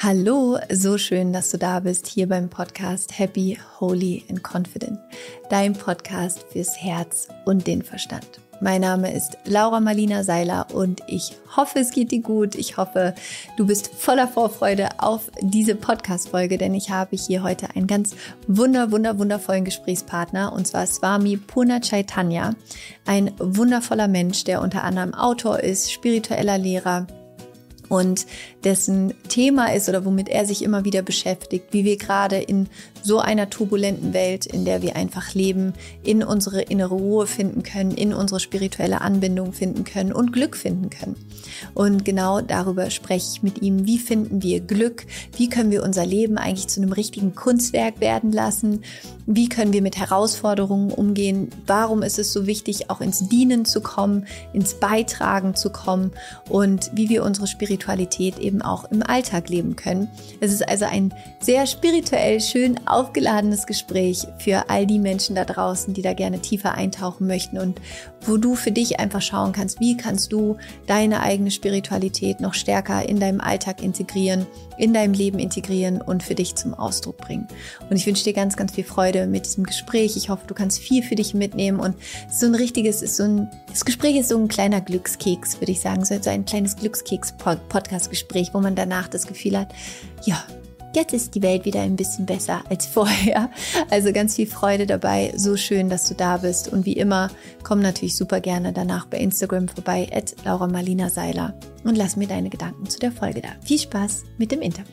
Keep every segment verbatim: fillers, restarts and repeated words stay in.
Hallo, so schön, dass du da bist, hier beim Podcast Happy, Holy and Confident, dein Podcast fürs Herz und den Verstand. Mein Name ist Laura Marlina Seiler und ich hoffe, es geht dir gut. Ich hoffe, du bist voller Vorfreude auf diese Podcast-Folge, denn ich habe hier heute einen ganz wunder, wunder, wundervollen Gesprächspartner, und zwar Swami Purna Chaitanya, ein wundervoller Mensch, der unter anderem Autor ist, spiritueller Lehrer, und dessen Thema ist oder womit er sich immer wieder beschäftigt, wie wir gerade in so einer turbulenten Welt, in der wir einfach leben, in unsere innere Ruhe finden können, in unsere spirituelle Anbindung finden können und Glück finden können. Und genau darüber spreche ich mit ihm. Wie finden wir Glück? Wie können wir unser Leben eigentlich zu einem richtigen Kunstwerk werden lassen? Wie können wir mit Herausforderungen umgehen? Warum ist es so wichtig, auch ins Dienen zu kommen, ins Beitragen zu kommen und wie wir unsere Spiritualität eben auch im Alltag leben können? Es ist also ein sehr spirituell schön aufgeladenes Gespräch für all die Menschen da draußen, die da gerne tiefer eintauchen möchten und wo du für dich einfach schauen kannst, wie kannst du deine eigene Spiritualität noch stärker in deinem Alltag integrieren, in deinem Leben integrieren und für dich zum Ausdruck bringen. Und ich wünsche dir ganz, ganz viel Freude mit diesem Gespräch. Ich hoffe, du kannst viel für dich mitnehmen und so ein richtiges, ist so ein, das Gespräch ist so ein kleiner Glückskeks, würde ich sagen, so ein kleines Glückskeks-Podcast-Gespräch, wo man danach das Gefühl hat, ja, jetzt ist die Welt wieder ein bisschen besser als vorher. Also ganz viel Freude dabei. So schön, dass du da bist. Und wie immer, komm natürlich super gerne danach bei Instagram vorbei, at Laura Marlina Seiler, und lass mir deine Gedanken zu der Folge da. Viel Spaß mit dem Interview.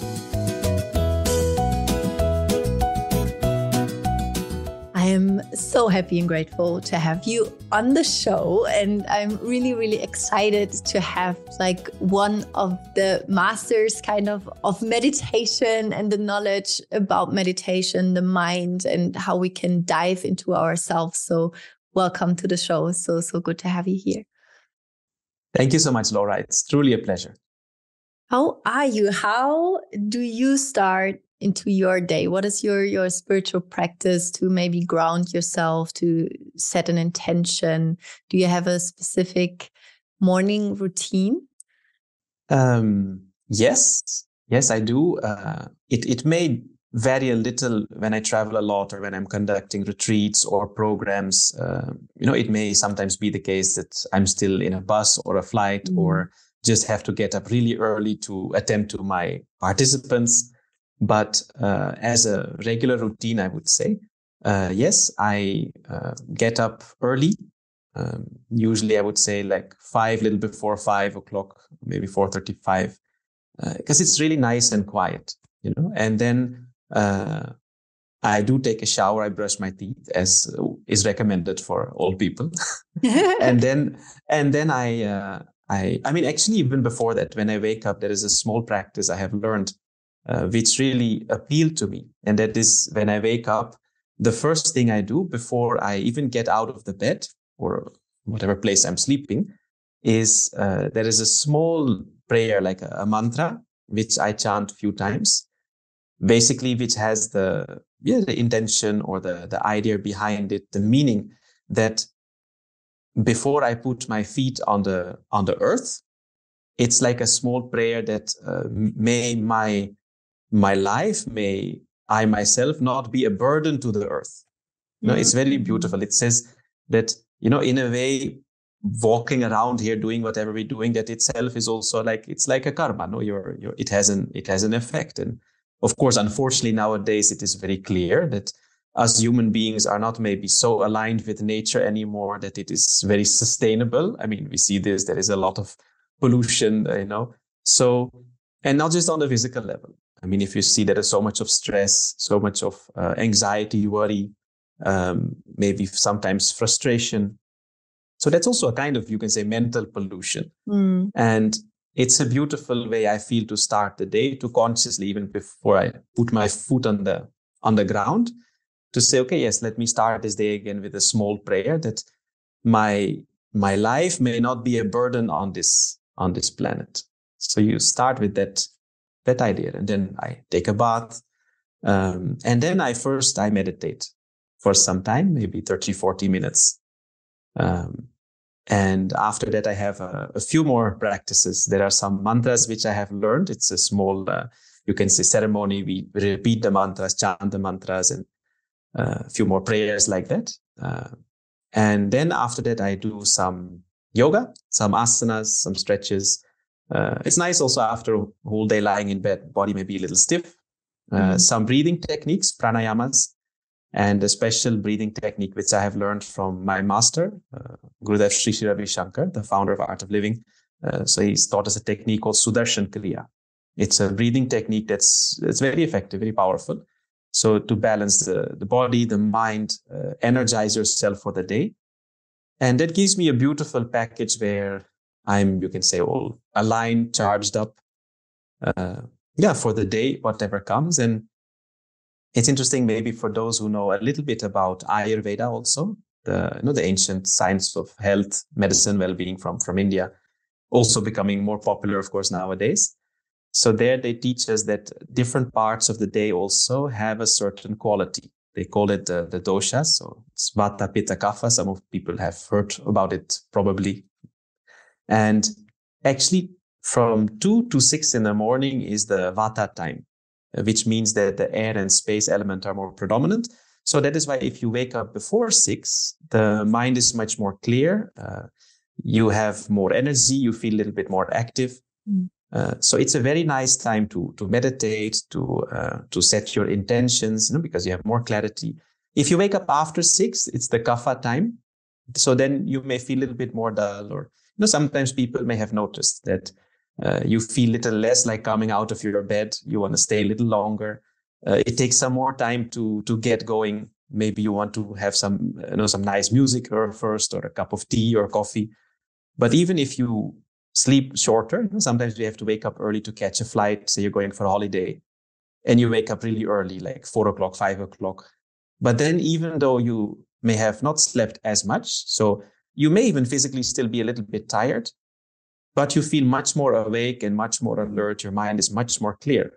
I'm so happy and grateful to have you on the show, and I'm really, really excited to have like one of the masters kind of of meditation and the knowledge about meditation, the mind, and how we can dive into ourselves. So welcome to the show. So, so good to have you here. Thank you so much, Laura. It's truly a pleasure. How are you? How do you start into your day? What is your your spiritual practice to maybe ground yourself, to set an intention? Do you have a specific morning routine? Um, yes, yes, I do. Uh, it it may vary a little when I travel a lot or when I'm conducting retreats or programs. Uh, you know, it may sometimes be the case that I'm still in a bus or a flight, mm. or just have to get up really early to attend to my participants. But uh, as a regular routine, I would say, uh, yes, I uh, get up early. Um, usually, I would say like five, little before five o'clock, maybe four thirty-five, because uh, it's really nice and quiet, you know. And then uh, I do take a shower. I brush my teeth, as is recommended for all people. and then, and then I, uh, I, I mean, actually, even before that, when I wake up, there is a small practice I have learned, Uh, which really appealed to me. And that is when I wake up, the first thing I do before I even get out of the bed or whatever place I'm sleeping is uh, there is a small prayer, like a, a mantra, which I chant a few times, basically, which has the, yeah, the intention or the, the idea behind it, the meaning that before I put my feet on the, on the earth, it's like a small prayer that uh, may my My life, may I myself not be a burden to the earth. You know, mm-hmm. It's very beautiful. It says that, you know, in a way, walking around here, doing whatever we're doing, that itself is also like, it's like a karma. No, you're, you're, it has an, it has an effect. And of course, unfortunately, nowadays, it is very clear that us human beings are not maybe so aligned with nature anymore, that it is very sustainable. I mean, we see this, there is a lot of pollution, you know, so, and not just on the physical level. I mean, if you see there is so much of stress, so much of uh, anxiety, worry, um, maybe sometimes frustration. So that's also a kind of, you can say, mental pollution. Mm. And it's a beautiful way, I feel, to start the day, to consciously, even before I put my foot on the on the ground, to say, okay, yes, let me start this day again with a small prayer that my my life may not be a burden on this on this planet. So you start with that that idea, and then I take a bath, um, and then I first I meditate for some time, maybe thirty, forty minutes, um, And after that, I have a, a few more practices. There are some mantras which I have learned. It's a small, uh, you can say, ceremony. We repeat the mantras, chant the mantras, and uh, a few more prayers like that. Uh, and then after that, I do some yoga, some asanas, some stretches. Uh, it's nice also after a whole day lying in bed, body may be a little stiff. Uh, mm-hmm. Some breathing techniques, pranayamas, and a special breathing technique, which I have learned from my master, uh, Gurudev Sri Sri Ravi Shankar, the founder of Art of Living. Uh, so he's taught us a technique called Sudarshan Kriya. It's a breathing technique that's it's very effective, very powerful. So to balance the, the body, the mind, uh, energize yourself for the day. And that gives me a beautiful package where I'm, you can say, all aligned, charged up, uh, yeah, for the day, whatever comes. And it's interesting, maybe for those who know a little bit about Ayurveda also, the, you know, the ancient science of health, medicine, well-being from, from India, also becoming more popular, of course, nowadays. So there they teach us that different parts of the day also have a certain quality. They call it uh, the doshas. So it's Vata, Pitta, Kapha. Some of people have heard about it probably. And actually from two to six in the morning is the Vata time, which means that the air and space element are more predominant. So that is why if you wake up before six, the mind is much more clear. Uh, you have more energy. You feel a little bit more active. Mm. Uh, so it's a very nice time to to meditate, to uh, to set your intentions, you know, because you have more clarity. If you wake up after six, it's the kapha time. So then you may feel a little bit more dull, or you know, sometimes people may have noticed that uh, you feel a little less like coming out of your bed. You want to stay a little longer. Uh, it takes some more time to to get going. Maybe you want to have some you know some nice music or first, or a cup of tea or coffee. But even if you sleep shorter, sometimes we have to wake up early to catch a flight. Say you're going for a holiday and you wake up really early, like four o'clock, five o'clock. But then even though you may have not slept as much, so you may even physically still be a little bit tired, but you feel much more awake and much more alert. Your mind is much more clear.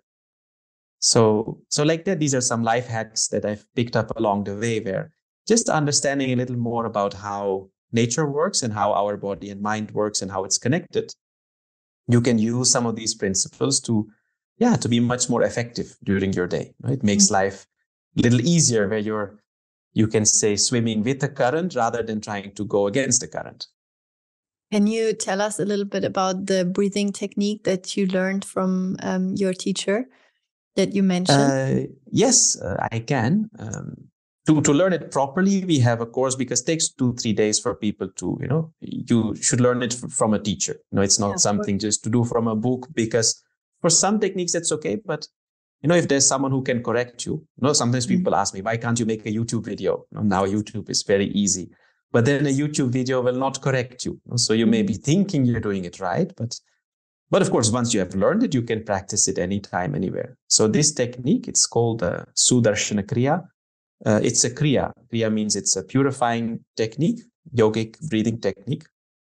So, so like that, these are some life hacks that I've picked up along the way, where just understanding a little more about how nature works and how our body and mind works and how it's connected, you can use some of these principles to, yeah, to be much more effective during your day. Right? It makes mm-hmm. life a little easier, where you're, you can say, swimming with the current rather than trying to go against the current. Can you tell us a little bit about the breathing technique that you learned from um, your teacher that you mentioned? Uh, yes, uh, I can. Um, To, to learn it properly, we have a course, because it takes two, three days for people to, you know, you should learn it f- from a teacher. You know, it's not yeah, something just to do from a book, because for some techniques, it's okay. But, you know, if there's someone who can correct you, you know, sometimes people mm-hmm. ask me, why can't you make a YouTube video? You know, now YouTube is very easy, but then a YouTube video will not correct you. You know? So you mm-hmm. may be thinking you're doing it right, but, but of course, once you have learned it, you can practice it anytime, anywhere. So this technique, it's called uh, Sudarshana Kriya. Uh, it's a kriya. Kriya means it's a purifying technique, yogic breathing technique.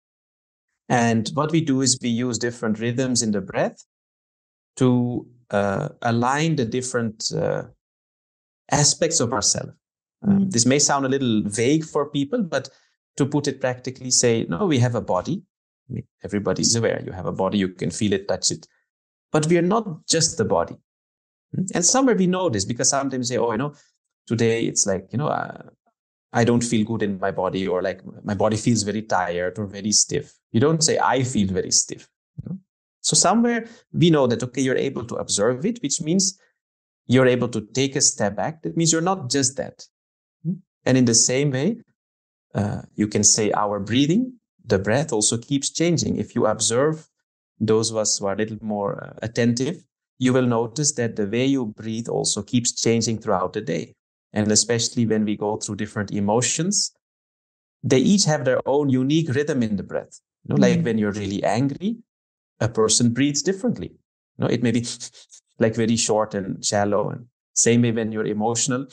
And what we do is we use different rhythms in the breath to uh, align the different uh, aspects of ourselves. Um, mm. This may sound a little vague for people, but to put it practically, say, no, we have a body. I mean, everybody's aware you have a body, you can feel it, touch it. But we are not just the body. And somewhere we know this, because sometimes we say, oh, you know, today it's like, you know, uh, I don't feel good in my body, or like my body feels very tired or very stiff. You don't say, I feel very stiff. You know? So somewhere we know that, okay, you're able to observe it, which means you're able to take a step back. That means you're not just that. And in the same way, uh, you can say our breathing, the breath also keeps changing. If you observe, those of us who are a little more uh, attentive, you will notice that the way you breathe also keeps changing throughout the day. And especially when we go through different emotions, they each have their own unique rhythm in the breath. You know, mm-hmm. like when you're really angry, a person breathes differently. You know, it may be like very short and shallow. And same way when you're emotional,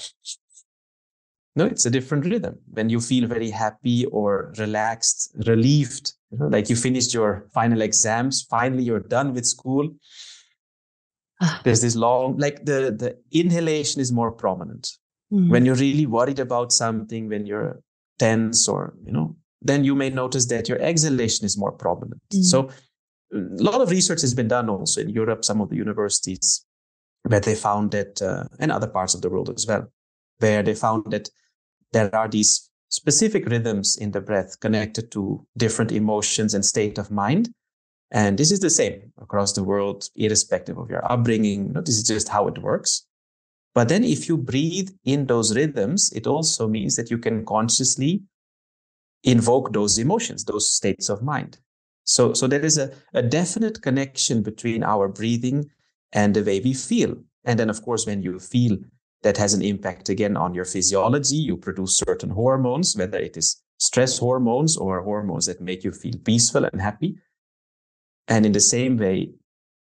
no, it's a different rhythm. When you feel very happy or relaxed, relieved, you know, like you finished your final exams, finally you're done with school. There's this long, like the, the inhalation is more prominent. Mm-hmm. When you're really worried about something, when you're tense or, you know, then you may notice that your exhalation is more prominent. Mm. So a lot of research has been done also in Europe, some of the universities, where they found that, uh, and other parts of the world as well, where they found that there are these specific rhythms in the breath connected to different emotions and state of mind. And this is the same across the world, irrespective of your upbringing. You know, this is just how it works. But then if you breathe in those rhythms, it also means that you can consciously invoke those emotions, those states of mind. So, so there is a, a definite connection between our breathing and the way we feel. And then, of course, when you feel, that has an impact again on your physiology. You produce certain hormones, whether it is stress hormones or hormones that make you feel peaceful and happy. And in the same way,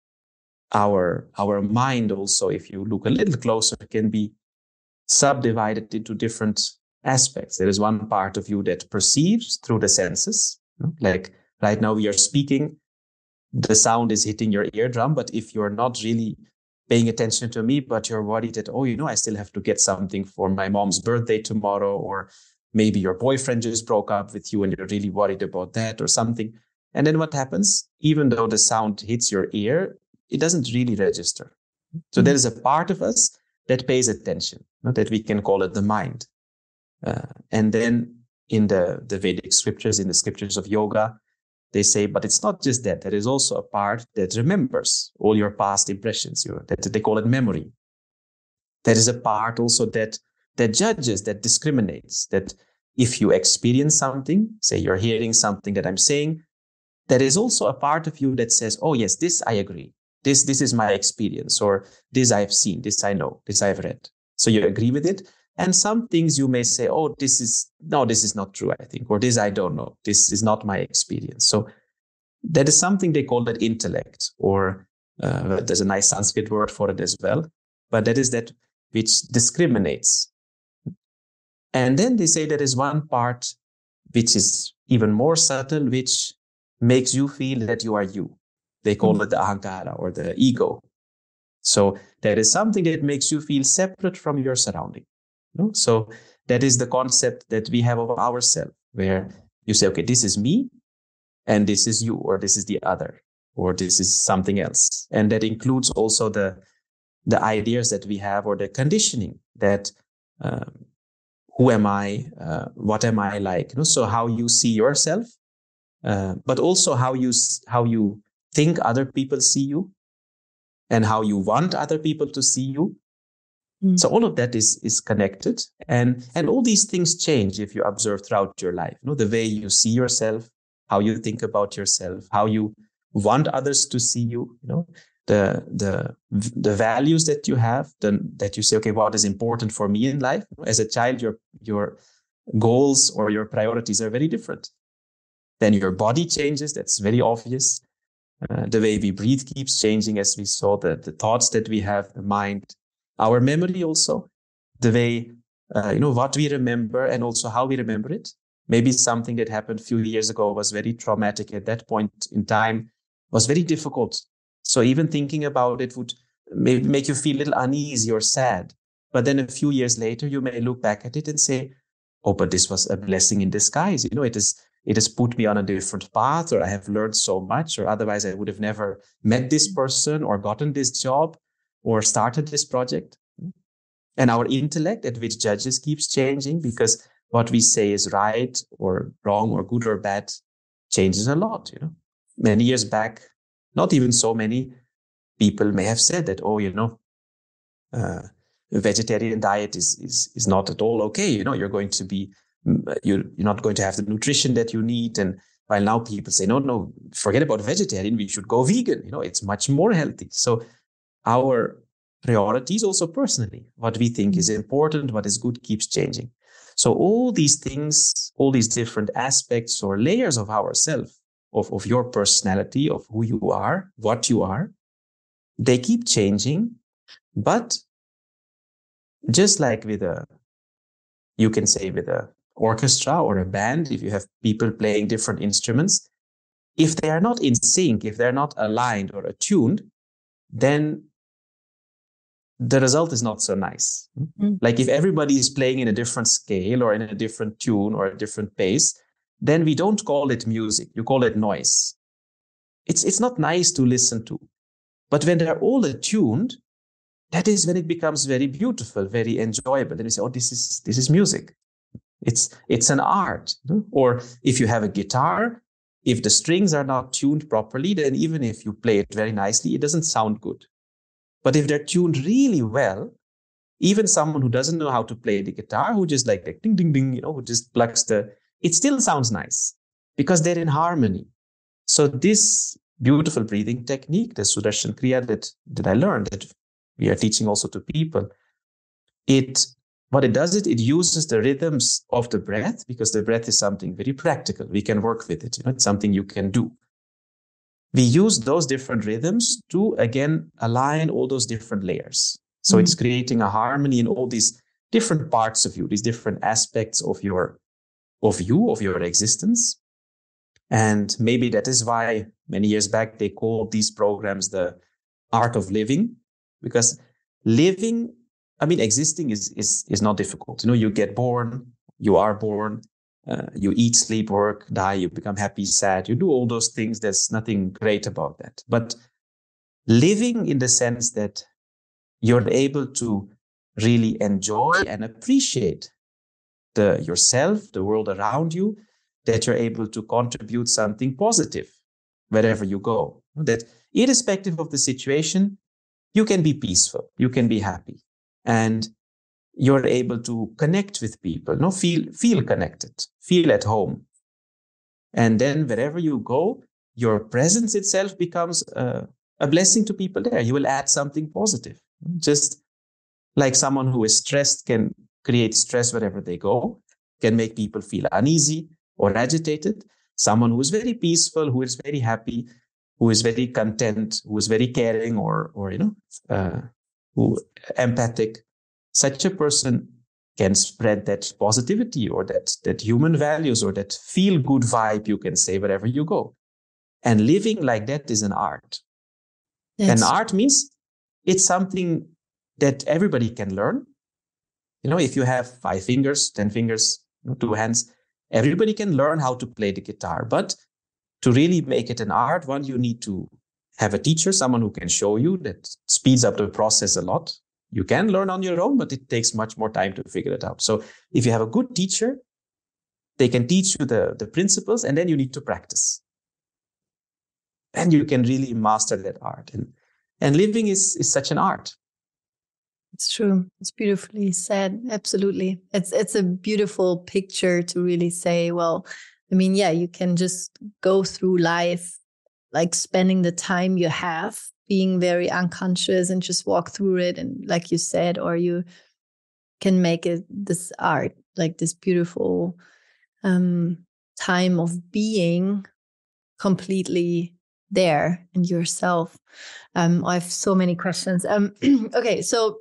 our, our mind also, if you look a little closer, can be subdivided into different aspects. There is one part of you that perceives through the senses. You know, like right now we are speaking, the sound is hitting your eardrum, but if you're not really paying attention to me, but you're worried that, oh, you know, I still have to get something for my mom's birthday tomorrow, or maybe your boyfriend just broke up with you and you're really worried about that or something. And then what happens? Even though the sound hits your ear, it doesn't really register. So mm-hmm. there is a part of us that pays attention, not that we can call it the mind. Uh, and then in the, the Vedic scriptures, in the scriptures of yoga, they say, but it's not just that. There is also a part that remembers all your past impressions. Your, that they call it memory. There is a part also that that judges, that discriminates. That if you experience something, say you're hearing something that I'm saying, there is also a part of you that says, oh yes, this I agree. This this is my experience, or this I've seen, this I know, this I've read. So you agree with it. And some things you may say, oh, this is, no, this is not true, I think, or this I don't know. This is not my experience. So that is something they call that intellect, or uh, there's a nice Sanskrit word for it as well. But that is that which discriminates. And then they say there is one part which is even more subtle, which makes you feel that you are you. They call mm-hmm. it the ahankara, or the ego. So there is something that makes you feel separate from your surrounding. No? So that is the concept that we have of ourselves, where you say, okay, this is me, and this is you, or this is the other, or this is something else. And that includes also the, the ideas that we have, or the conditioning that, um, who am I? Uh, what am I like? You know? So how you see yourself, uh, but also how you, how you think other people see you, and how you want other people to see you. So all of that is is connected, and and all these things change if you observe throughout your life. You know, the way you see yourself, how you think about yourself, how you want others to see you. You know, the the the values that you have, the, that you say, okay, what is important for me in life? As a child, your your goals or your priorities are very different. Then your body changes. That's very obvious. Uh, the way we breathe keeps changing, as we saw. The the thoughts that we have, the mind. Our memory also, the way, uh, you know, what we remember and also how we remember it. Maybe something that happened a few years ago was very traumatic at that point in time, was very difficult. So even thinking about it would maybe make you feel a little uneasy or sad. But then a few years later, you may look back at it and say, oh, but this was a blessing in disguise. You know, it is, it has put me on a different path, or I have learned so much, or otherwise I would have never met this person or gotten this job, or started this project. And our intellect, at which judges, keeps changing, because what we say is right or wrong or good or bad changes a lot. You know, many years back, not even so many people may have said that, oh, you know, uh, a vegetarian diet is is is not at all okay. You know, you're going to be you're you're not going to have the nutrition that you need. And while now people say, no, no, forget about vegetarian, we should go vegan. You know, it's much more healthy. So our priorities also personally, what we think is important, what is good, keeps changing. So all these things, all these different aspects or layers of ourselves, of, of your personality, of who you are, what you are, they keep changing. But just like with a, you can say with a orchestra or a band, if you have people playing different instruments, if they are not in sync, if they're not aligned or attuned, then the result is not so nice. Mm-hmm. Like if everybody is playing in a different scale or in a different tune or a different pace, then we don't call it music. You call it noise. It's, it's not nice to listen to. But when they're all attuned, that is when it becomes very beautiful, very enjoyable. Then you say, oh, this is this is music. It's it's an art. Or if you have a guitar, if the strings are not tuned properly, then even if you play it very nicely, it doesn't sound good. But if they're tuned really well, even someone who doesn't know how to play the guitar, who just like, like ding, ding, ding, you know, who just plugs the, it still sounds nice because they're in harmony. So this beautiful breathing technique, the Sudarshan Kriya that, that I learned, that we are teaching also to people, it, what it does, it, it uses the rhythms of the breath, because the breath is something very practical. We can work with it. You know, it's something you can do. We use those different rhythms to, again, align all those different layers. So mm-hmm. it's creating a harmony in all these different parts of you, these different aspects of your, of you, of your existence. And maybe that is why many years back they called these programs the art of living, because living, I mean, existing is is is not difficult. You know, you get born, you are born, uh, you eat, sleep, work, die, you become happy, sad, you do all those things. There's nothing great about that. But living in the sense that you're able to really enjoy and appreciate the yourself, the world around you, that you're able to contribute something positive wherever you go. That irrespective of the situation, you can be peaceful, you can be happy, and you're able to connect with people, no, feel, feel connected, feel at home. And then wherever you go, your presence itself becomes a, a blessing to people there. You will add something positive. Just like someone who is stressed can create stress wherever they go, can make people feel uneasy or agitated. Someone who is very peaceful, who is very happy, who is very content, who is very caring, or, or you know, uh, who empathic, such a person can spread that positivity or that, that human values or that feel-good vibe, you can say, wherever you go. And living like that is an art. Yes. And art means it's something that everybody can learn. You know, if you have five fingers, ten fingers, you know, two hands, everybody can learn how to play the guitar. But to really make it an art, one, you need to have a teacher, someone who can show you. That speeds up the process a lot. You can learn on your own, but it takes much more time to figure it out. So if you have a good teacher, they can teach you the, the principles, and then you need to practice. And you can really master that art. And, and living is, is such an art. It's true. It's beautifully said. Absolutely. It's it's a beautiful picture to really say, well, I mean, yeah, you can just go through life, like spending the time you have, being very unconscious and just walk through it. And like you said, or you can make it this art, like this beautiful um, time of being completely there in yourself. Um, I have so many questions. Um, okay, so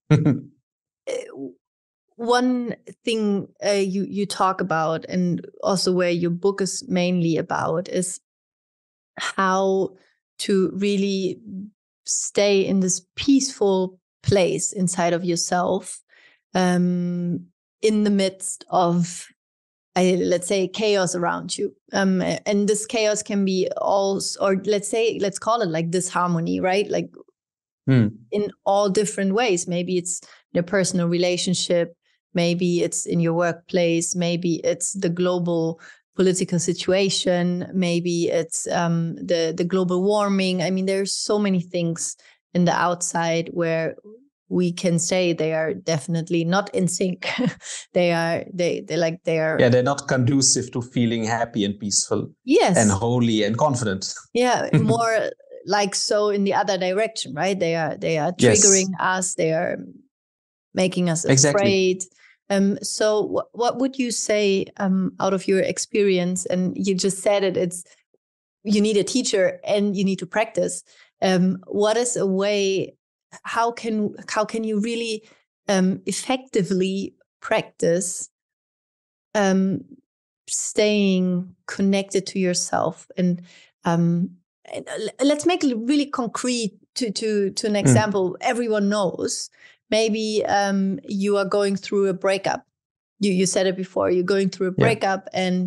one thing uh, you you talk about, and also where your book is mainly about, is how to really stay in this peaceful place inside of yourself, um, in the midst of, I, let's say, chaos around you. Um, and this chaos can be all, or let's say, let's call it like disharmony, right? Like mm. in all different ways. Maybe it's your personal relationship, maybe it's in your workplace, maybe it's the global political situation, maybe it's um, the, the global warming. I mean, there's so many things in the outside where we can say they are definitely not in sync. they are, they, they like, they are. Yeah, they're not conducive to feeling happy and peaceful. Yes. And holy and confident. Yeah, more like so in the other direction, right? They are, they are triggering yes. us. They are making us exactly. afraid. Um, so w- what would you say um, out of your experience? And you just said it, it's, you need a teacher and you need to practice. Um, what is a way, how can, how can you really um, effectively practice um, staying connected to yourself? And, um, and let's make it really concrete to, to, to an example mm. everyone knows. Maybe um, you are going through a breakup. You you said it before. You're going through a breakup, yeah. and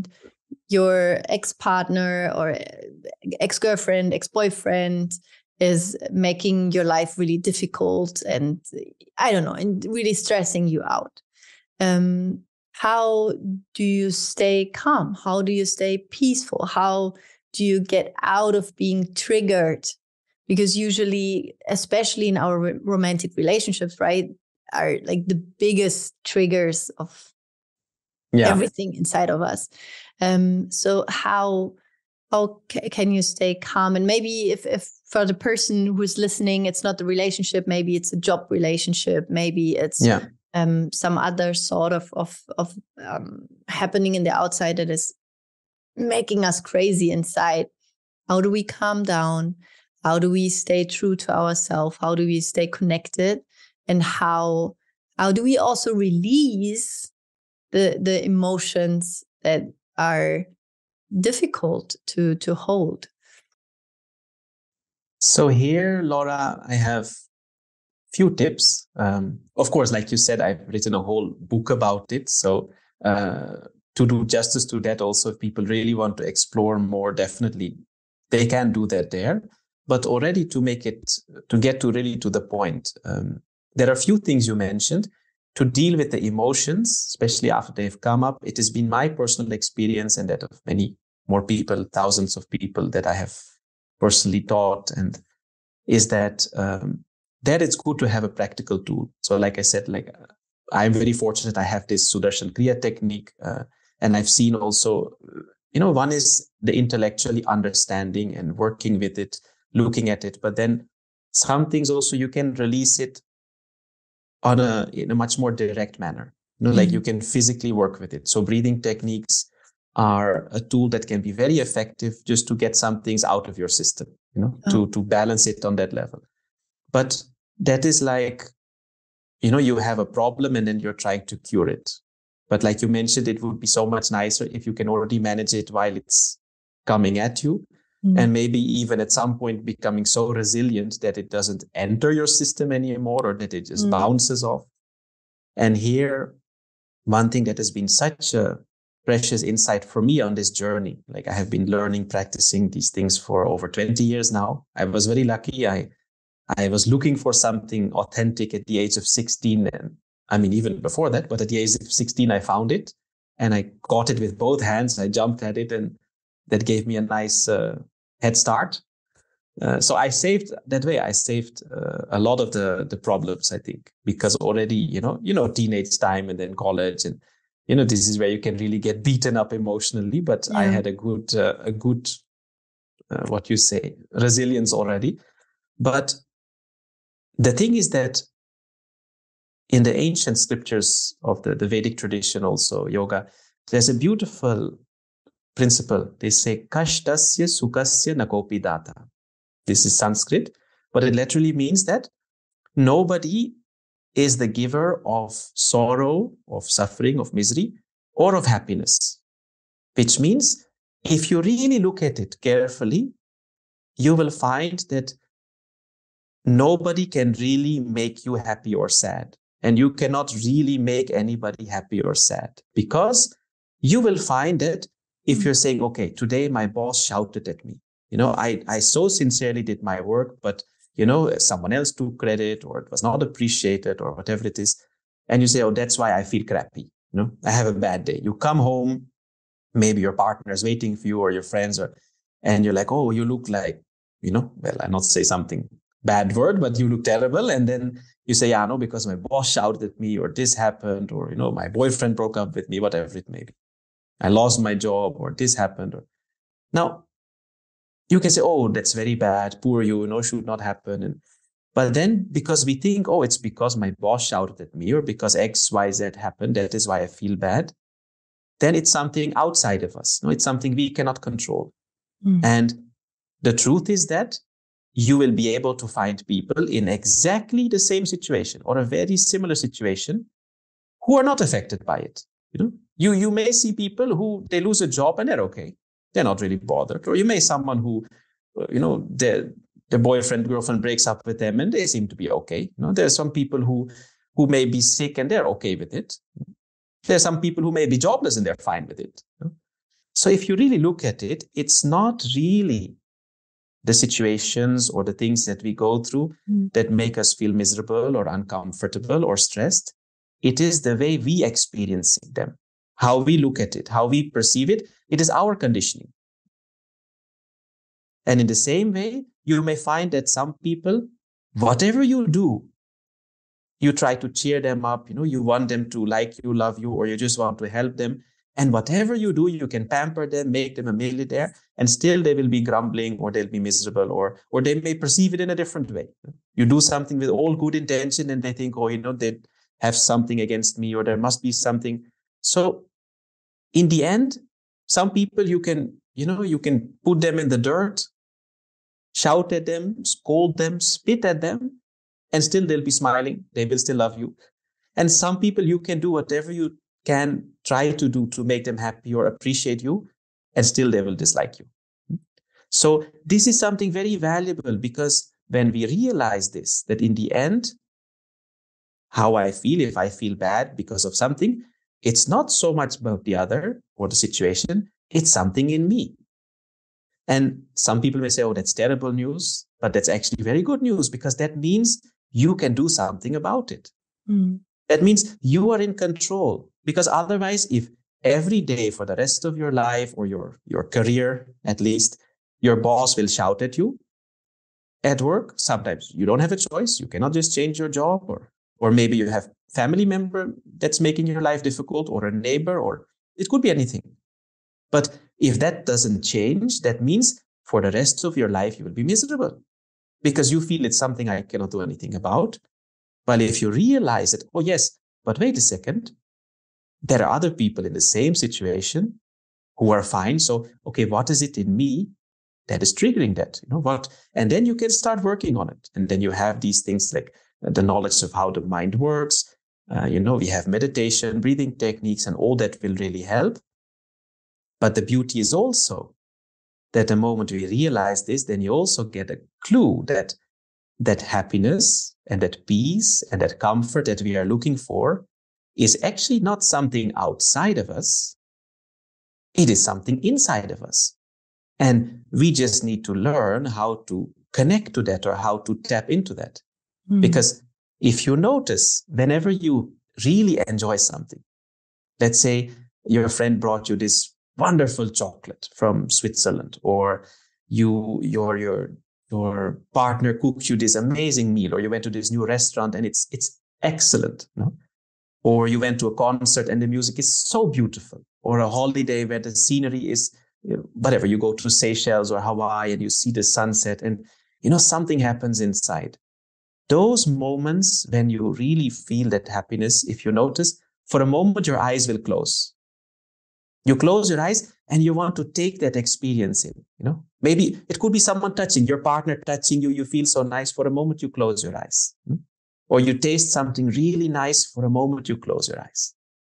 your ex-partner or ex-girlfriend, ex-boyfriend is making your life really difficult and I don't know, and really stressing you out. Um, how do you stay calm? How do you stay peaceful? How do you get out of being triggered? Because usually, especially in our romantic relationships, right, are like the biggest triggers of yeah. everything inside of us. Um, so how how ca- can you stay calm? And maybe if, if for the person who's listening, it's not the relationship, maybe it's a job relationship, maybe it's yeah. um, some other sort of of, of um, happening in the outside that is making us crazy inside. How do we calm down? How do we stay true to ourselves? How do we stay connected? And how how do we also release the the emotions that are difficult to to hold? So here, Laura, I have few tips. Um, of course, like you said, I've written a whole book about it. So uh, to do justice to that, also, if people really want to explore more, definitely they can do that there. But already to make it, to get to really to the point, um, there are a few things you mentioned. To deal with the emotions, especially after they've come up, it has been my personal experience and that of many more people, thousands of people that I have personally taught, and is that um, that it's good to have a practical tool. So like I said, like uh, I'm very fortunate I have this Sudarshan Kriya technique, uh, and I've seen also, you know, one is the intellectually understanding and working with it, looking at it, but then some things also you can release it on a in a much more direct manner. You know, mm-hmm. like you can physically work with it. So breathing techniques are a tool that can be very effective just to get some things out of your system, you know, oh. to to balance it on that level. But that is like, you know, you have a problem and then you're trying to cure it. But like you mentioned, it would be so much nicer if you can already manage it while it's coming at you. Mm. And maybe even at some point becoming so resilient that it doesn't enter your system anymore or that it just mm. bounces off. And here, one thing that has been such a precious insight for me on this journey, like I have been learning, practicing these things for over twenty years now. I was very lucky. I I was looking for something authentic at the age of sixteen. And I mean, even before that, but at the age of sixteen, I found it and I got it with both hands. I jumped at it and that gave me a nice uh, head start. Uh, so I saved that way. I saved uh, a lot of the, the problems, I think, because already, you know, you know, teenage time and then college and, you know, this is where you can really get beaten up emotionally. But yeah. I had a good, uh, a good, uh, what you say, resilience already. But the thing is that in the ancient scriptures of the, the Vedic tradition, also yoga, there's a beautiful principle. They say, Kashtasya sukasya nakopi data. This is Sanskrit, but it literally means that nobody is the giver of sorrow, of suffering, of misery, or of happiness. Which means if you really look at it carefully, you will find that nobody can really make you happy or sad. And you cannot really make anybody happy or sad, because you will find that if you're saying, okay, today my boss shouted at me, you know, I, I so sincerely did my work, but, you know, someone else took credit or it was not appreciated or whatever it is. And you say, oh, that's why I feel crappy. You know, I have a bad day. You come home, maybe your partner is waiting for you or your friends, or, and you're like, oh, you look like, you know, well, I'll not say something bad word, but you look terrible. And then you say, yeah, no, because my boss shouted at me or this happened, or, you know, my boyfriend broke up with me, whatever it may be. I lost my job or this happened. Or now you can say, oh, that's very bad. Poor you, you know, should not happen. And, but then because we think, oh, it's because my boss shouted at me or because X, Y, Z happened, that is why I feel bad. Then it's something outside of us. No, it's something we cannot control. Mm. And the truth is that you will be able to find people in exactly the same situation or a very similar situation who are not affected by it. You know, you, you may see people who they lose a job and they're okay. They're not really bothered. Or you may someone who, you know, their, their boyfriend, girlfriend breaks up with them and they seem to be okay. You know, there are some people who, who may be sick and they're okay with it. There are some people who may be jobless and they're fine with it. You know? So if you really look at it, it's not really the situations or the things that we go through mm. that make us feel miserable or uncomfortable or stressed. It is the way we experience them, how we look at it, how we perceive it. It is our conditioning. And in the same way, you may find that some people, whatever you do, you try to cheer them up, you know, you want them to like you, love you, or you just want to help them. And whatever you do, you can pamper them, make them a millionaire, and still they will be grumbling or they'll be miserable, or, or they may perceive it in a different way. You do something with all good intention and they think, oh, you know, they have something against me, or there must be something. So in the end, some people you can, you know, you can put them in the dirt, shout at them, scold them, spit at them, and still they'll be smiling. They will still love you. And some people you can do whatever you can try to do to make them happy or appreciate you, and still they will dislike you. So this is something very valuable, because when we realize this, that in the end, how I feel, if I feel bad because of something, it's not so much about the other or the situation, it's something in me. And some people may say, oh, that's terrible news, but that's actually very good news, because that means you can do something about it. Mm. That means you are in control, because otherwise, if every day for the rest of your life, or your, your career, at least, your boss will shout at you at work, sometimes you don't have a choice. You cannot just change your job, or, or maybe you have family member that's making your life difficult, or a neighbor, or it could be anything. But if that doesn't change, that means for the rest of your life, you will be miserable, because you feel it's something I cannot do anything about. But if you realize that, oh yes, but wait a second, there are other people in the same situation who are fine. So, okay, what is it in me that is triggering that? You know what? And then you can start working on it. And then you have these things like the knowledge of how the mind works. Uh, you know, we have meditation, breathing techniques, and all that will really help. But the beauty is also that the moment we realize this, then you also get a clue that that happiness and that peace and that comfort that we are looking for is actually not something outside of us. It is something inside of us. And we just need to learn how to connect to that, or how to tap into that. Mm. Because if you notice, whenever you really enjoy something, let's say your friend brought you this wonderful chocolate from Switzerland, or you, your, your, your partner cooked you this amazing meal, or you went to this new restaurant and it's, it's excellent, no? Or you went to a concert and the music is so beautiful, or a holiday where the scenery is, you know, whatever, you go to Seychelles or Hawaii and you see the sunset and, you know, something happens inside. Those moments when you really feel that happiness, if you notice, for a moment, your eyes will close. You close your eyes and you want to take that experience in, you know, maybe it could be someone touching, your partner touching you. You feel so nice. For a moment, you close your eyes. Hmm? Or you taste something really nice. For a moment, you close your eyes.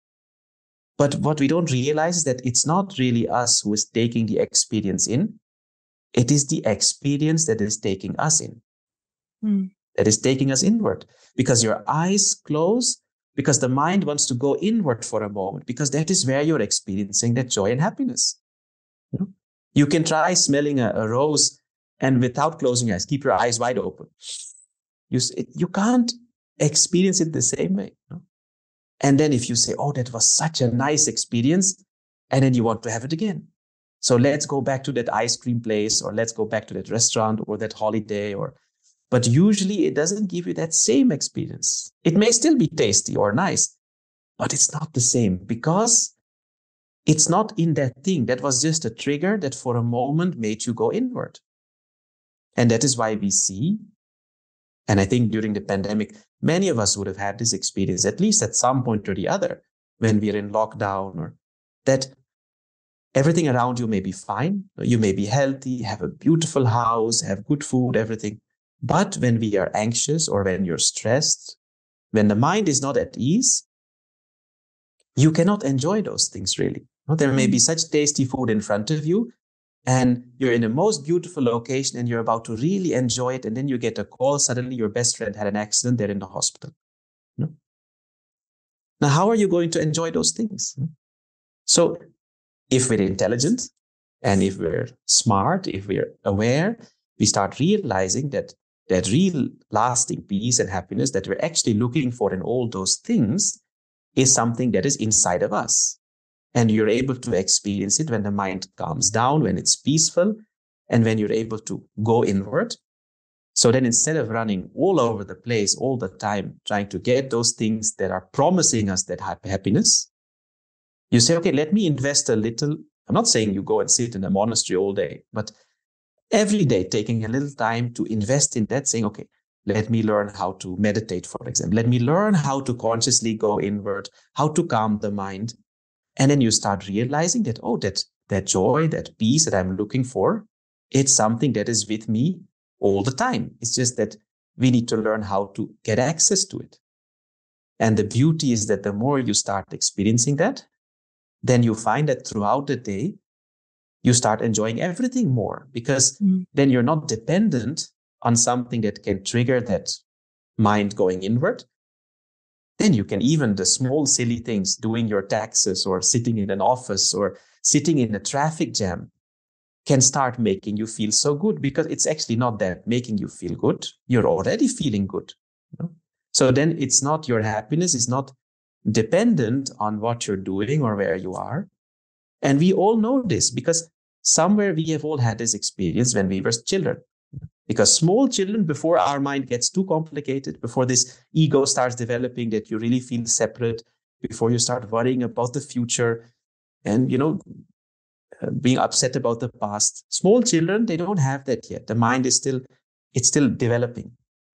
But what we don't realize is that it's not really us who is taking the experience in. It is the experience that is taking us in, mm. that is taking us inward, because your eyes close, because the mind wants to go inward for a moment, because that is where you're experiencing that joy and happiness. You know? You can try smelling a, a rose and without closing your eyes, keep your eyes wide open. You, you can't experience it the same way. You know? And then if you say, oh, that was such a nice experience, and then you want to have it again. So let's go back to that ice cream place, or let's go back to that restaurant or that holiday, or, but usually it doesn't give you that same experience. It may still be tasty or nice, but it's not the same, because it's not in that thing. That was just a trigger that for a moment made you go inward. And that is why we see, and I think during the pandemic, many of us would have had this experience, at least at some point or the other, when we're in lockdown, or that everything around you may be fine. You may be healthy, have a beautiful house, have good food, everything. But when we are anxious, or when you're stressed, when the mind is not at ease, you cannot enjoy those things really. There may be such tasty food in front of you, and you're in the most beautiful location and you're about to really enjoy it. And then you get a call, suddenly your best friend had an accident, they're in the hospital. Now, how are you going to enjoy those things? So if we're intelligent and if we're smart, if we're aware, we start realizing that that real lasting peace and happiness that we're actually looking for in all those things is something that is inside of us. And you're able to experience it when the mind calms down, when it's peaceful, and when you're able to go inward. So then instead of running all over the place all the time, trying to get those things that are promising us that happiness, you say, okay, let me invest a little. I'm not saying you go and sit in a monastery all day, but every day taking a little time to invest in that, saying, okay, let me learn how to meditate, for example. Let me learn how to consciously go inward, how to calm the mind. And then you start realizing that, oh, that, that joy, that peace that I'm looking for, it's something that is with me all the time. It's just that we need to learn how to get access to it. And the beauty is that the more you start experiencing that, then you find that throughout the day, you start enjoying everything more, because mm. then you're not dependent on something that can trigger that mind going inward. Then you can even the small silly things, doing your taxes or sitting in an office or sitting in a traffic jam, can start making you feel so good, because it's actually not that making you feel good. You're already feeling good. You know? So then it's not, your happiness is not dependent on what you're doing or where you are. And we all know this, because somewhere we have all had this experience when we were children. Because small children, before our mind gets too complicated, before this ego starts developing that you really feel separate, before you start worrying about the future and, you know, uh, being upset about the past, small children, they don't have that yet. The mind is still, it's still developing.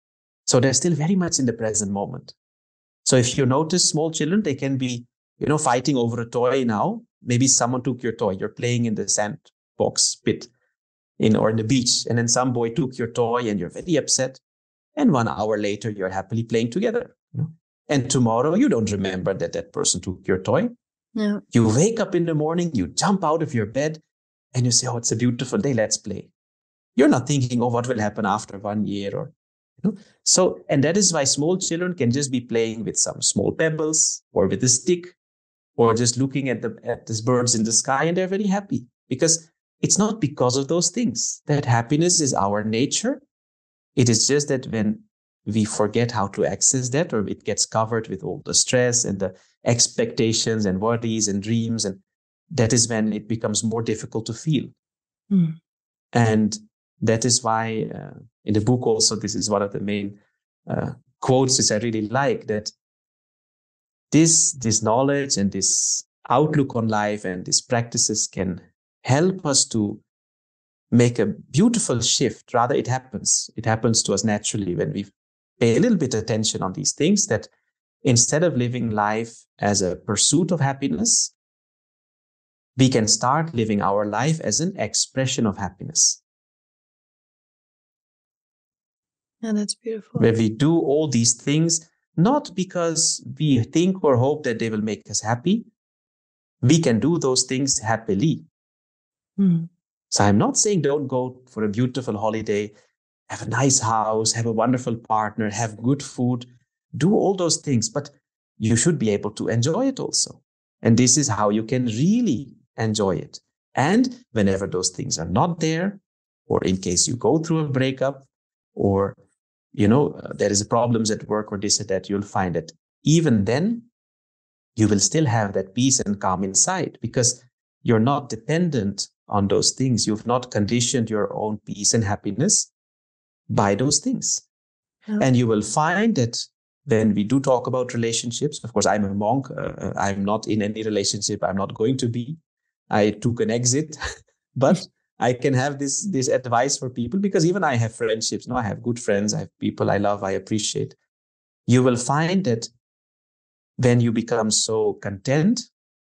So they're still very much in the present moment. So if you notice small children, they can be, you know, fighting over a toy now. Maybe someone took your toy. You're playing in the sandbox pit. In or in the beach, and then some boy took your toy and you're very upset. And one hour later, you're happily playing together. You know? And tomorrow, you don't remember that that person took your toy. No. You wake up in the morning, you jump out of your bed, and you say, oh, it's a beautiful day, let's play. You're not thinking, oh, what will happen after one year? or you know. So, and that is why small children can just be playing with some small pebbles or with a stick or just looking at the at these birds in the sky, and they're very happy, because it's not because of those things. That happiness is our nature. It is just that when we forget how to access that, or it gets covered with all the stress and the expectations and worries and dreams, and that is when it becomes more difficult to feel. Mm. And that is why uh, in the book also, this is one of the main uh, quotes which I really like, that this, this knowledge and this outlook on life and these practices can help us to make a beautiful shift. Rather, it happens. It happens to us naturally when we pay a little bit of attention on these things, that instead of living life as a pursuit of happiness, we can start living our life as an expression of happiness. And that's beautiful. Where we do all these things, not because we think or hope that they will make us happy. We can do those things happily. Mm. So I'm not saying don't go for a beautiful holiday, have a nice house, have a wonderful partner, have good food, do all those things, but you should be able to enjoy it also. And this is how you can really enjoy it. And whenever those things are not there, or in case you go through a breakup, or, you know, uh, there is problems at work or this or that, you'll find that even then you will still have that peace and calm inside, because you're not dependent on those things. You've not conditioned your own peace and happiness by those things. Oh. And you will find that when we do talk about relationships, of course, I'm a monk. Uh, I'm not in any relationship. I'm not going to be. I took an exit, but I can have this, this advice for people, because even I have friendships. No, I have good friends. I have people I love, I appreciate. You will find that when you become so content,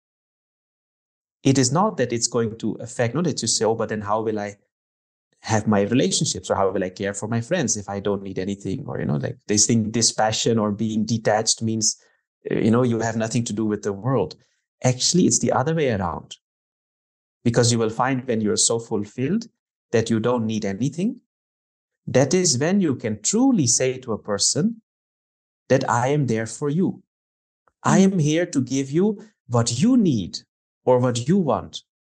it is not that it's going to affect, not that you say, oh, but then how will I have my relationships, or how will I care for my friends if I don't need anything? Or, you know, like they think dispassion or being detached means, you know, you have nothing to do with the world. Actually, it's the other way around. Because you will find when you're so fulfilled that you don't need anything, that is when you can truly say to a person that I am there for you. I am here to give you what you need or what you want,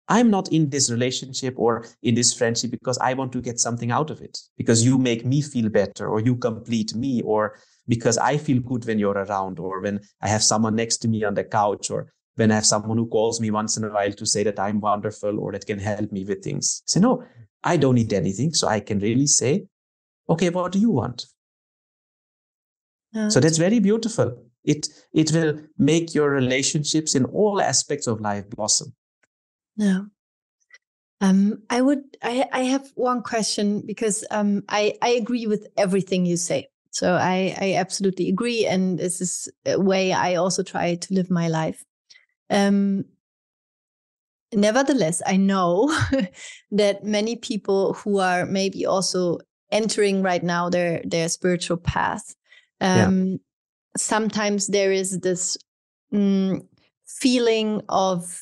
I'm not in this relationship or in this friendship because I want to get something out of it, because you make me feel better, or you complete me, or because I feel good when you're around, or when I have someone next to me on the couch, or when I have someone who calls me once in a while to say that I'm wonderful or that can help me with things. So no, I don't need anything. So I can really say, okay, what do you want? Yeah. So that's very beautiful. It it will make your relationships in all aspects of life blossom. Yeah. Um, I would, I, I have one question, because um, I, I agree with everything you say. So I, I absolutely agree. And this is a way I also try to live my life. Um, nevertheless, I know that many people who are maybe also entering right now their, their spiritual path, um, yeah. sometimes there is this mm, feeling of,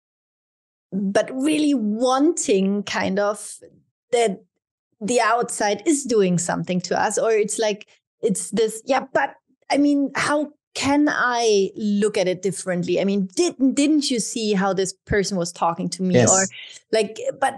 but really wanting kind of that the outside is doing something to us, or it's like, it's this, yeah, but I mean, how can I look at it differently? I mean, didn't, didn't you see how this person was talking to me? Yes. Or like, but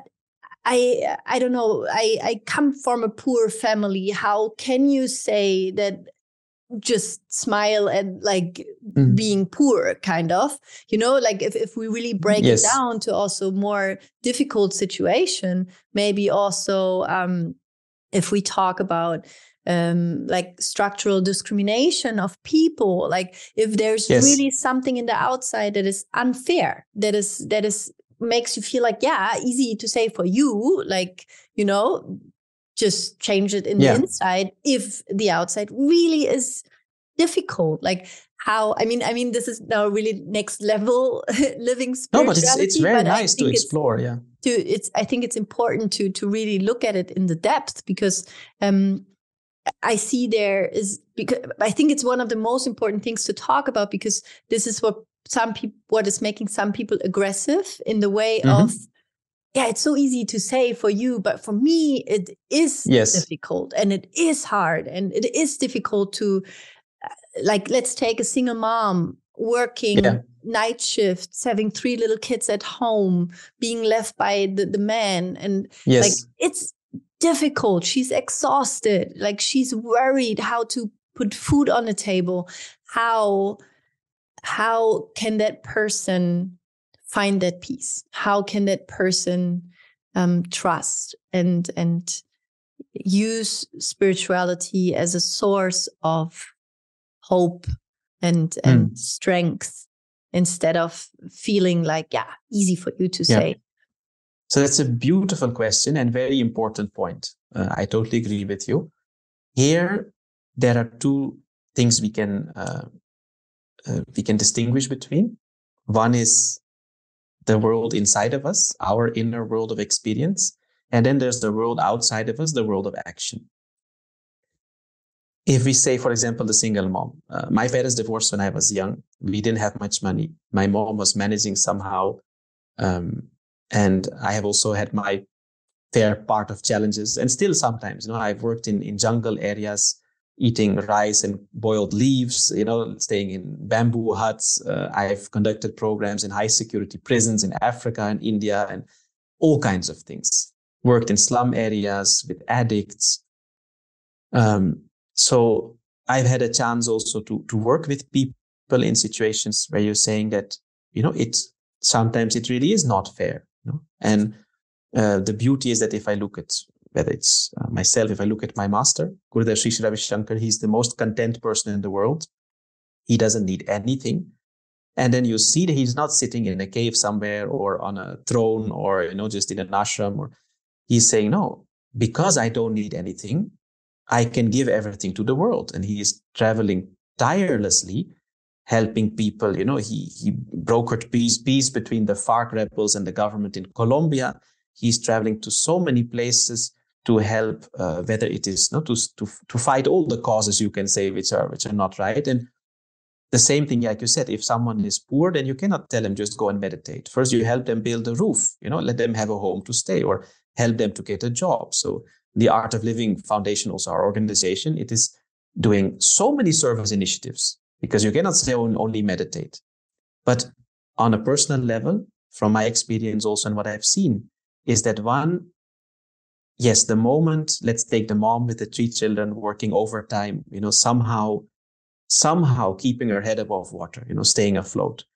I, I don't know, I, I come from a poor family. How can you say that just smile and like mm. being poor, kind of, you know, like if, if we really break yes. it down to also more difficult situation, maybe also um, if we talk about um, like structural discrimination of people, like if there's yes. really something in the outside that is unfair, that is, that is makes you feel like, yeah, easy to say for you, like, you know, just change it in yeah. the inside. If the outside really is difficult, like how, I mean, I mean, this is now really next level living spirituality. No, but it's, it's very but nice to explore. Yeah. To, it's, I think it's important to, to really look at it in the depth, because um, I see there is, because I think it's one of the most important things to talk about, because this is what some people, what is making some people aggressive in the way mm-hmm. of, yeah, it's so easy to say for you, but for me, it is yes. difficult, and it is hard, and it is difficult to, uh, like, let's take a single mom working yeah. night shifts, having three little kids at home, being left by the, the man. And yes. like, it's difficult. She's exhausted. Like, she's worried how to put food on the table. How, how can that person find that peace? How can that person um, trust and and use spirituality as a source of hope and and mm. strength, instead of feeling like, yeah, easy for you to yeah. say? So that's a beautiful question and very important point. Uh, I totally agree with you. Here, there are two things we can uh, uh, we can distinguish between. One is the world inside of us, our inner world of experience. And then there's the world outside of us, the world of action. If we say, for example, the single mom, uh, my parents divorced when I was young. We didn't have much money. My mom was managing somehow. Um, and I have also had my fair part of challenges. And still sometimes, you know, I've worked in, in jungle areas, eating rice and boiled leaves, you know, staying in bamboo huts. Uh, I've conducted programs in high security prisons in Africa and India and all kinds of things. Worked in slum areas with addicts. Um, so I've had a chance also to, to work with people in situations where you're saying that, you know, it's sometimes it really is not fair. You know? And uh, the beauty is that if I look at whether it's uh, myself, if I look at my master, Gurudev Sri Sri Ravi Shankar, he's the most content person in the world. He doesn't need anything. And then you see that he's not sitting in a cave somewhere or on a throne or, you know, just in an ashram. Or he's saying, no, because I don't need anything, I can give everything to the world. And he is traveling tirelessly, helping people. You know, he, he brokered peace, peace between the FARC rebels and the government in Colombia. He's traveling to so many places to help, uh, whether it is no, to, to to fight all the causes, you can say, which are which are not right. And the same thing, like you said, if someone is poor, then you cannot tell them just go and meditate. First, you help them build a roof, you know, let them have a home to stay, or help them to get a job. So the Art of Living Foundation, also our organization, it is doing so many service initiatives, because you cannot say only meditate. But on a personal level, from my experience also and what I've seen is that one, yes, the moment, let's take the mom with the three children working overtime, you know, somehow, somehow keeping her head above water, you know, staying afloat.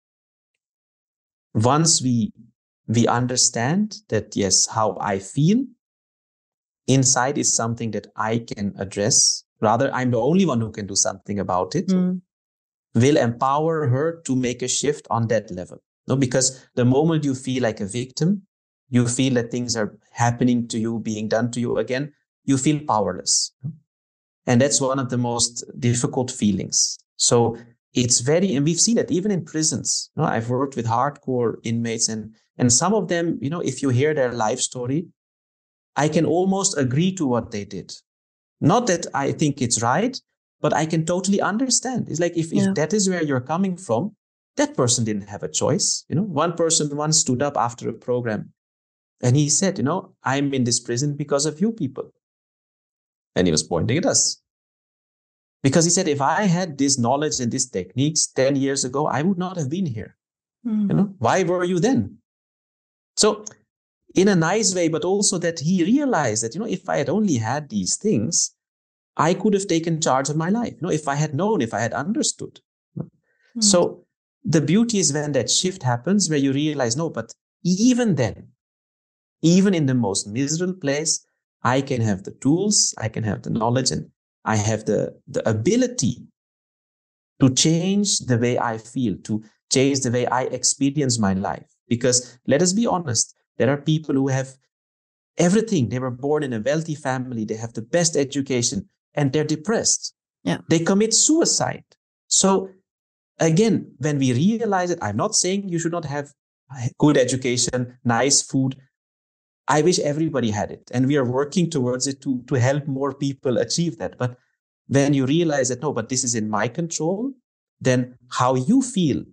Once we, we understand that, yes, how I feel inside is something that I can address. Rather, I'm the only one who can do something about it. Mm. Will empower her to make a shift on that level. No, because the moment you feel like a victim, you feel that things are happening to you, being done to you again, you feel powerless. And that's one of the most difficult feelings. So it's very, and we've seen it even in prisons. You know, I've worked with hardcore inmates, and, and some of them, you know, if you hear their life story, I can almost agree to what they did. Not that I think it's right, but I can totally understand. It's like if, yeah. if that is where you're coming from, that person didn't have a choice. You know, one person once stood up after a program and he said, you know, I'm in this prison because of you people. And he was pointing at us. Because he said, if I had this knowledge and these techniques ten years ago, I would not have been here. Mm. You know, why were you then? So in a nice way, but also that he realized that, you know, if I had only had these things, I could have taken charge of my life. You know, if I had known, if I had understood. Mm. So the beauty is when that shift happens, where you realize, no, but even then, even in the most miserable place, I can have the tools, I can have the knowledge, and I have the, the ability to change the way I feel, to change the way I experience my life. Because let us be honest, there are people who have everything. They were born in a wealthy family. They have the best education and they're depressed. Yeah. They commit suicide. So again, when we realize it, I'm not saying you should not have good education, nice food. I wish everybody had it. And we are working towards it to, to help more people achieve that. But when you realize that, no, but this is in my control, then how you feel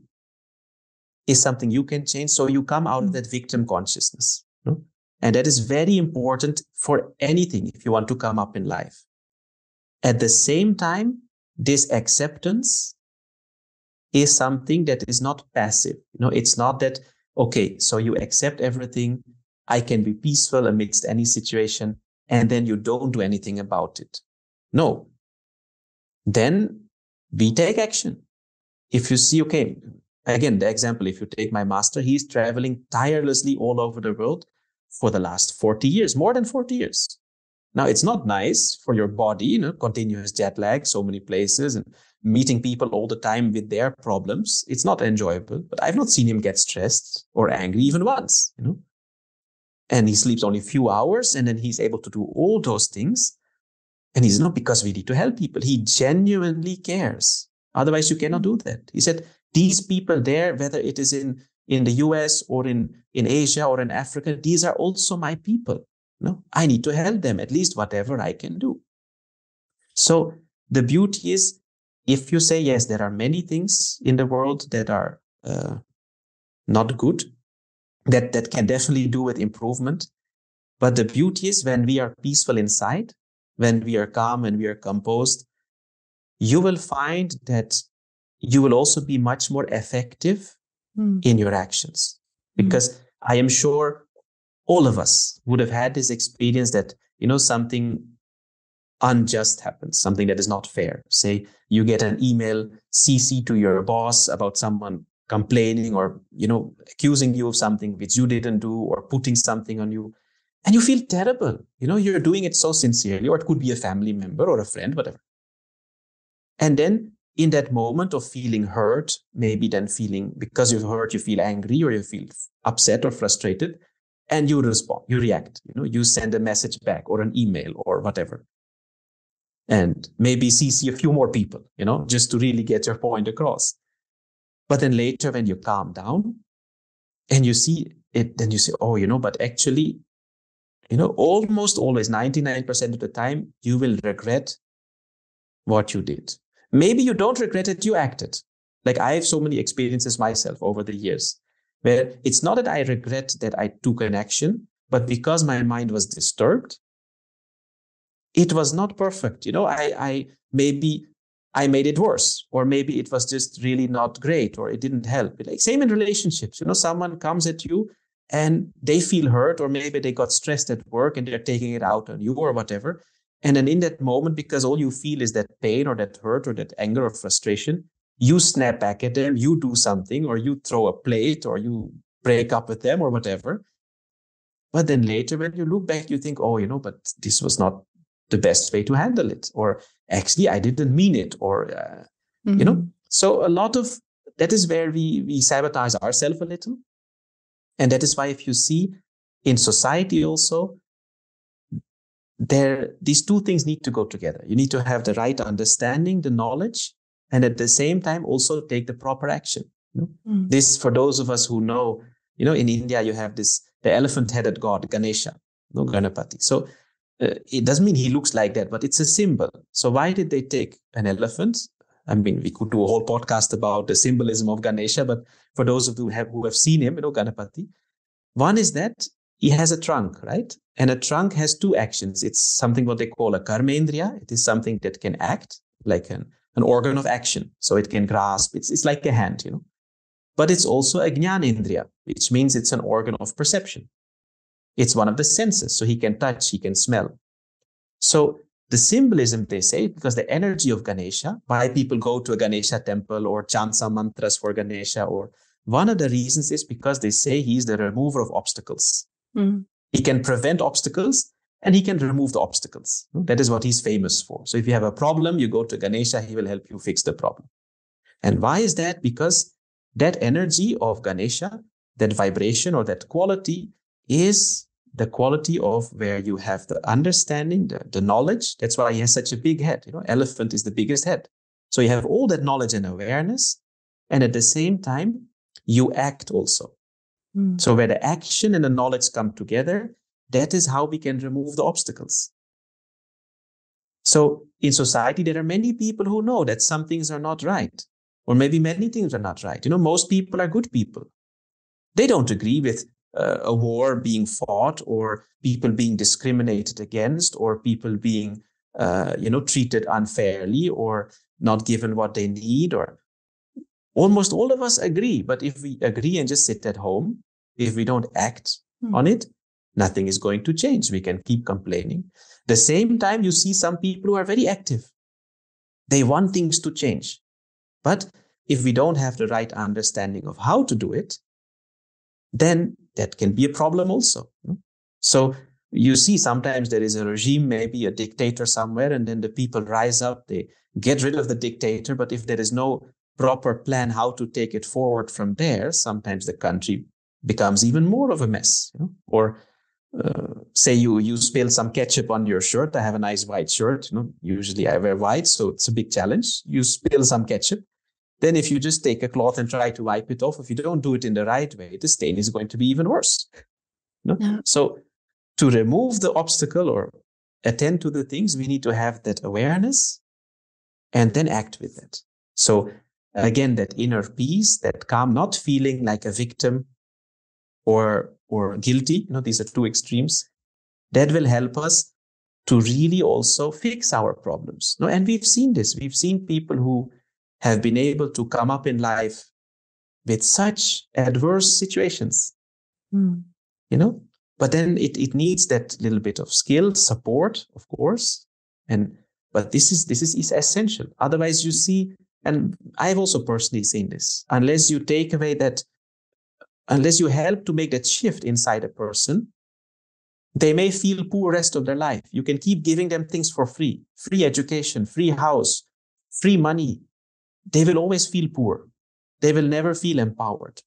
is something you can change. So you come out of that victim consciousness. You know? And that is very important for anything if you want to come up in life. At the same time, this acceptance is something that is not passive. You know, it's not that, okay, so you accept everything. I can be peaceful amidst any situation, and then you don't do anything about it. No. Then we take action. If you see, okay, again, the example, if you take my master, he's traveling tirelessly all over the world for the last forty years, more than forty years. Now, it's not nice for your body, you know, continuous jet lag, so many places, and meeting people all the time with their problems. It's not enjoyable, but I've not seen him get stressed or angry even once, you know. And he sleeps only a few hours, and then he's able to do all those things. And he's not because we need to help people. He genuinely cares. Otherwise, you cannot do that. He said, these people there, whether it is in, in the U S or in, in Asia or in Africa, these are also my people. No, I need to help them, at least whatever I can do. So the beauty is, if you say, yes, there are many things in the world that are uh, not good, that, that can definitely do with improvement. But the beauty is when we are peaceful inside, when we are calm and we are composed, you will find that you will also be much more effective mm. in your actions. Because mm. I am sure all of us would have had this experience that, you know, something unjust happens, something that is not fair. Say you get an email C C to your boss about someone complaining or, you know, accusing you of something which you didn't do, or putting something on you. And you feel terrible. You know, you're doing it so sincerely, or it could be a family member or a friend, whatever. And then in that moment of feeling hurt, maybe then feeling, because you've hurt, you feel angry or you feel upset or frustrated, and you respond, you react, you know, you send a message back or an email or whatever. And maybe C C a few more people, you know, just to really get your point across. But then later when you calm down and you see it, then you say, oh, you know, but actually, you know, almost always ninety-nine percent of the time, you will regret what you did. Maybe you don't regret it, you acted. Like I have so many experiences myself over the years where it's not that I regret that I took an action, but because my mind was disturbed, it was not perfect. You know, I, I maybe I made it worse, or maybe it was just really not great, or it didn't help. Like same in relationships, you know, someone comes at you and they feel hurt, or maybe they got stressed at work and they're taking it out on you or whatever. And then in that moment, because all you feel is that pain or that hurt or that anger or frustration, you snap back at them, you do something, or you throw a plate, or you break up with them or whatever. But then later when you look back, you think, oh, you know, but this was not the best way to handle it. Or actually, I didn't mean it. Or, uh, mm-hmm. you know, so a lot of that is where we, we sabotage ourselves a little. And that is why if you see in society also, there these two things need to go together. You need to have the right understanding, the knowledge, and at the same time also take the proper action. You know? Mm. This, for those of us who know, you know, in India you have this, the elephant-headed god, Ganesha, no, Ganapati. So uh, it doesn't mean he looks like that, but it's a symbol. So why did they take an elephant? I mean, we could do a whole podcast about the symbolism of Ganesha, but for those of you who have, who have seen him, you know, Ganapati, one is that he has a trunk, right? And a trunk has two actions. It's something what they call a karmendriya. It is something that can act like an, an organ of action. So it can grasp. It's, it's like a hand, you know. But it's also a jnanendriya, which means it's an organ of perception. It's one of the senses. So he can touch, he can smell. So the symbolism, they say, because the energy of Ganesha, why people go to a Ganesha temple or chant some mantras for Ganesha, or one of the reasons is because they say he's the remover of obstacles. Mm. He can prevent obstacles and he can remove the obstacles. That is what he's famous for. So if you have a problem, you go to Ganesha, he will help you fix the problem. And why is that? Because that energy of Ganesha, that vibration or that quality is the quality of where you have the understanding, the, the knowledge. That's why he has such a big head. You know, elephant is the biggest head. So you have all that knowledge and awareness. And at the same time, you act also. Mm. So where the action and the knowledge come together, that is how we can remove the obstacles. So in society, there are many people who know that some things are not right, or maybe many things are not right. You know, most people are good people. They don't agree with uh, a war being fought, or people being discriminated against, or people being, uh, you know, treated unfairly, or not given what they need, or almost all of us agree. But if we agree and just sit at home, if we don't act hmm. on it, nothing is going to change. We can keep complaining. The same time, you see some people who are very active. They want things to change. But if we don't have the right understanding of how to do it, then that can be a problem also. So you see sometimes there is a regime, maybe a dictator somewhere, and then the people rise up, they get rid of the dictator. But if there is no proper plan how to take it forward from there, sometimes the country becomes even more of a mess. You know? Or uh, say you you spill some ketchup on your shirt. I have a nice white shirt. You know, usually I wear white, so it's a big challenge. You spill some ketchup. Then if you just take a cloth and try to wipe it off, if you don't do it in the right way, the stain is going to be even worse. You know? Yeah. So to remove the obstacle or attend to the things, we need to have that awareness and then act with it. So again, that inner peace, that calm, not feeling like a victim or or guilty, you know, these are two extremes, that will help us to really also fix our problems. No, and we've seen this. We've seen people who have been able to come up in life with such adverse situations, mm. you know, but then it, it needs that little bit of skill, support, of course. And, but this is, this is, is essential. Otherwise you see, and I've also personally seen this, unless you take away that, unless you help to make that shift inside a person, they may feel poor rest of their life. You can keep giving them things for free, free education, free house, free money. They will always feel poor. They will never feel empowered.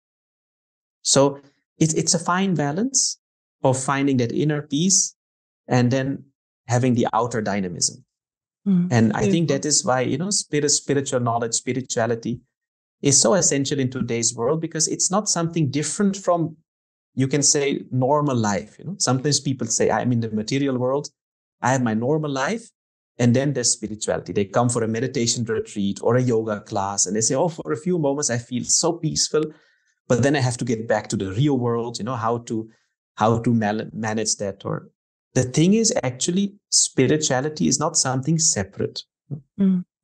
So it, it's a fine balance of finding that inner peace and then having the outer dynamism. Mm, and I think that is why, you know, spirit, spiritual knowledge, spirituality is so essential in today's world, because it's not something different from, you can say, normal life. You know, sometimes people say, I'm in the material world, I have my normal life, and then there's spirituality. They come for a meditation retreat or a yoga class, and they say, oh, for a few moments I feel so peaceful, but then I have to get back to the real world. You know, how to how to mal- manage that. Or the thing is, actually, spirituality is not something separate. Mm.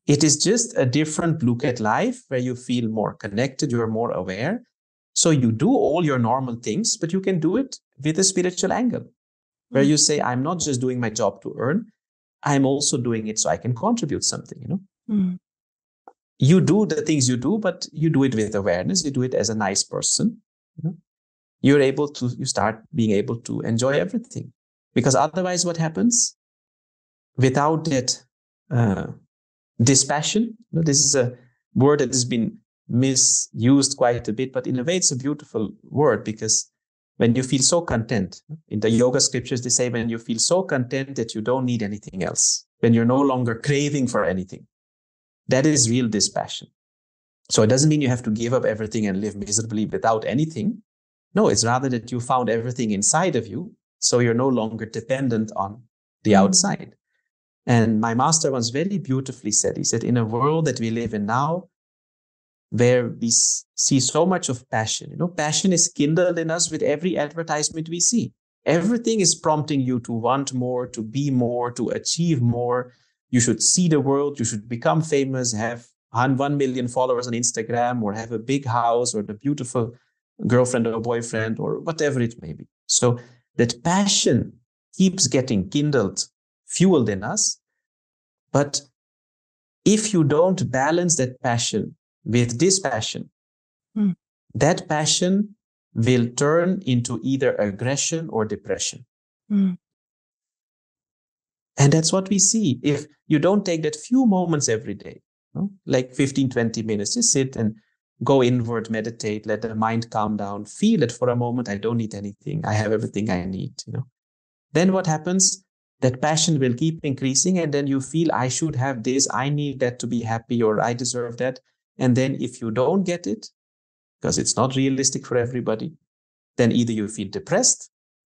It is just a different look at life where you feel more connected, you're more aware. So you do all your normal things, but you can do it with a spiritual angle, where you say, I'm not just doing my job to earn, I'm also doing it so I can contribute something, you know. Mm. You do the things you do, but you do it with awareness. You do it as a nice person. You know? You're able to, you start being able to enjoy everything. Because otherwise what happens? Without that uh, dispassion, you know, this is a word that has been misused quite a bit, but in a way it's a beautiful word, because when you feel so content, in the yoga scriptures, they say when you feel so content that you don't need anything else, when you're no longer craving for anything, that is real dispassion. So it doesn't mean you have to give up everything and live miserably without anything. No, it's rather that you found everything inside of you, so you're no longer dependent on the mm. outside. And my master once very beautifully said, he said, in a world that we live in now, where we see so much of passion, you know, passion is kindled in us with every advertisement we see. Everything is prompting you to want more, to be more, to achieve more. You should see the world, you should become famous, have one million followers on Instagram, or have a big house, or the beautiful girlfriend or boyfriend, or whatever it may be. So that passion keeps getting kindled, fueled in us. But if you don't balance that passion with dispassion, mm. that passion will turn into either aggression or depression. Mm. And that's what we see. If you don't take that few moments every day, you know, like fifteen, twenty minutes, just sit and go inward, meditate, let the mind calm down, feel it for a moment. I don't need anything. I have everything I need, you know. Then what happens? That passion will keep increasing. And then you feel, I should have this. I need that to be happy, or I deserve that. And then if you don't get it, because it's not realistic for everybody, then either you feel depressed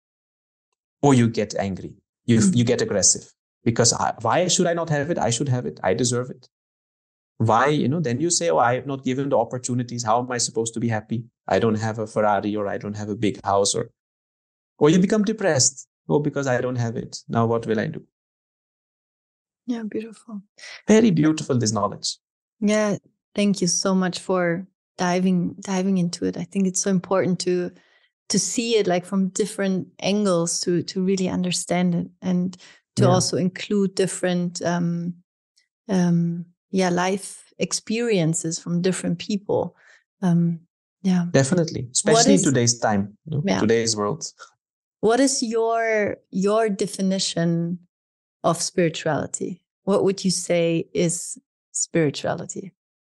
or you get angry. You, mm-hmm. you get aggressive, because I, why should I not have it? I should have it. I deserve it. Why, you know, then you say, oh, I have not given the opportunities. How am I supposed to be happy? I don't have a Ferrari, or I don't have a big house, or, or you become depressed. Oh, because I don't have it. Now what will I do? Yeah, beautiful. Very beautiful, this knowledge. Yeah. Thank you so much for diving, diving into it. I think it's so important to, to see it like from different angles, to, to really understand it, and to yeah. also include different, um, um, yeah, life experiences from different people. Um, yeah, definitely, especially is, in today's time, you know, yeah. today's world. What is your your definition of spirituality? What would you say is spirituality?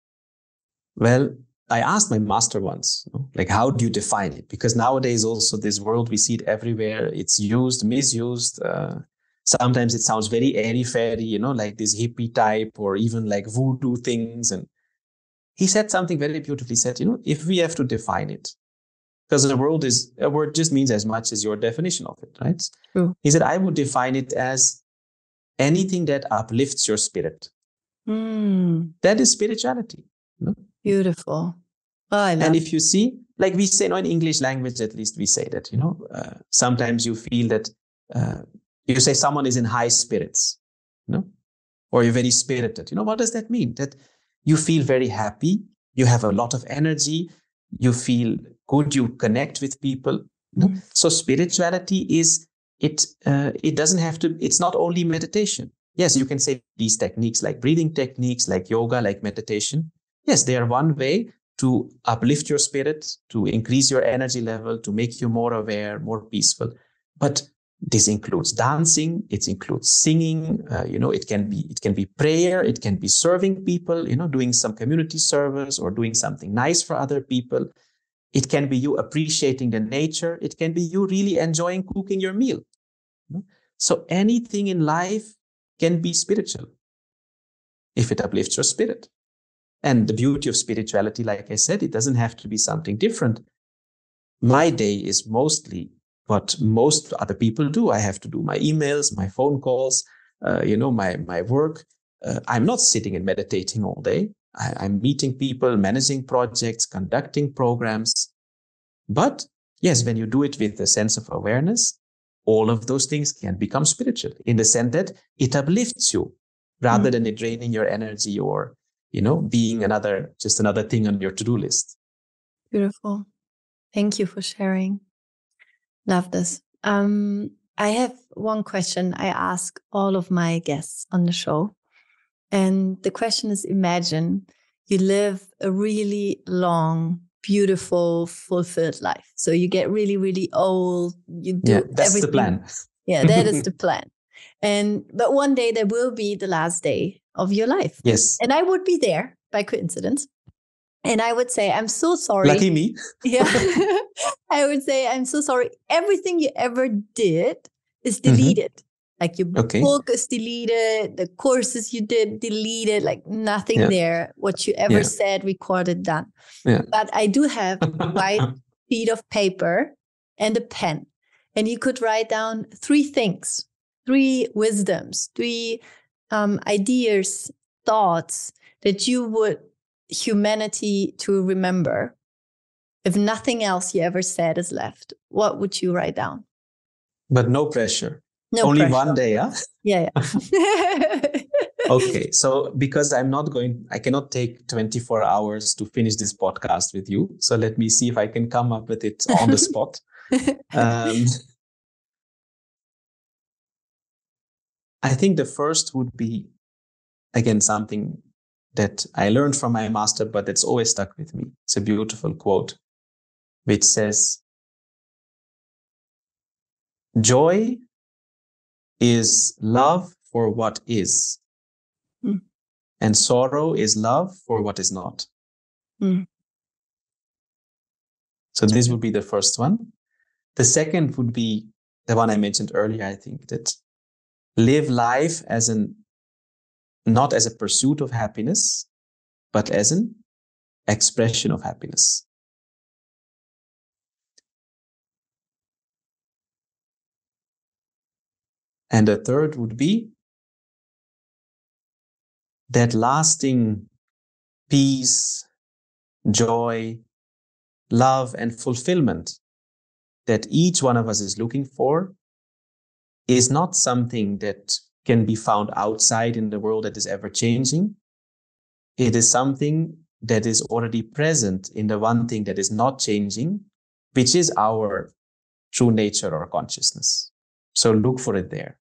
Well, I asked my master once, you know, like, how do you define it? Because nowadays also this world, we see it everywhere. It's used, misused. Uh, sometimes it sounds very airy-fairy, you know, like this hippie type, or even like voodoo things. And he said something very beautifully. He said, you know, if we have to define it, because the world is, a word just means as much as your definition of it, right? True. He said, I would define it as anything that uplifts your spirit. Mm. That is spirituality. You know? Beautiful. Oh, I love and if you see, like we say, you know, in English language, at least we say that, you know, uh, sometimes you feel that uh, you say someone is in high spirits, you know, or you're very spirited. You know, what does that mean? That you feel very happy, you have a lot of energy, you feel good, you connect with people. You know? Mm. So spirituality is, it, uh, it doesn't have to, it's not only meditation. Yes, you can say these techniques like breathing techniques, like yoga, like meditation. Yes, they are one way to uplift your spirit, to increase your energy level, to make you more aware, more peaceful. But this includes dancing, it includes singing, uh, you know, it can be, it can be prayer, it can be serving people, you know, doing some community service or doing something nice for other people. It can be you appreciating the nature. It can be you really enjoying cooking your meal. You know? So anything in life can be spiritual if it uplifts your spirit. And the beauty of spirituality, like I said, it doesn't have to be something different. My day is mostly what most other people do. I have to do my emails, my phone calls, uh, you know, my, my work. Uh, I'm not sitting and meditating all day. I, I'm meeting people, managing projects, conducting programs. But yes, when you do it with a sense of awareness, all of those things can become spiritual in the sense that it uplifts you. rather Mm. than it draining your energy or, you know, being another, just another thing on your to-do list. Beautiful. Thank you for sharing. Love this. Um, I have one question I ask all of my guests on the show. And the question is, imagine you live a really long, beautiful, fulfilled life. So you get really, really old. You do Yeah, that's everything. the plan. Yeah, that is the plan. And but one day there will be the last day of your life. Yes. And I would be there by coincidence. And I would say, I'm so sorry. Lucky me. Yeah. I would say, I'm so sorry. Everything you ever did is deleted. Mm-hmm. Like your Okay. book is deleted, the courses you did deleted, like nothing Yeah. there. What you ever Yeah. said, recorded, done. Yeah. But I do have a white sheet of paper and a pen. And you could write down three things, three wisdoms, three um, ideas, thoughts that you would humanity to remember. If nothing else you ever said is left, what would you write down? But no pressure. No Only pressure. one day, huh? Yeah, yeah. Okay, so because I'm not going, I cannot take twenty-four hours to finish this podcast with you. So let me see if I can come up with it on the spot. um, I think the first would be, again, something that I learned from my master, but that's always stuck with me. It's a beautiful quote, which says, joy is love for what is, mm. and sorrow is love for what is not. Mm. So this would be the first one. The second would be the one I mentioned earlier. I think that live life as an, not as a pursuit of happiness, but as an expression of happiness. And the third would be that lasting peace, joy, love, and fulfillment that each one of us is looking for is not something that can be found outside in the world that is ever changing. It is something that is already present in the one thing that is not changing, which is our true nature or consciousness. So look for it there.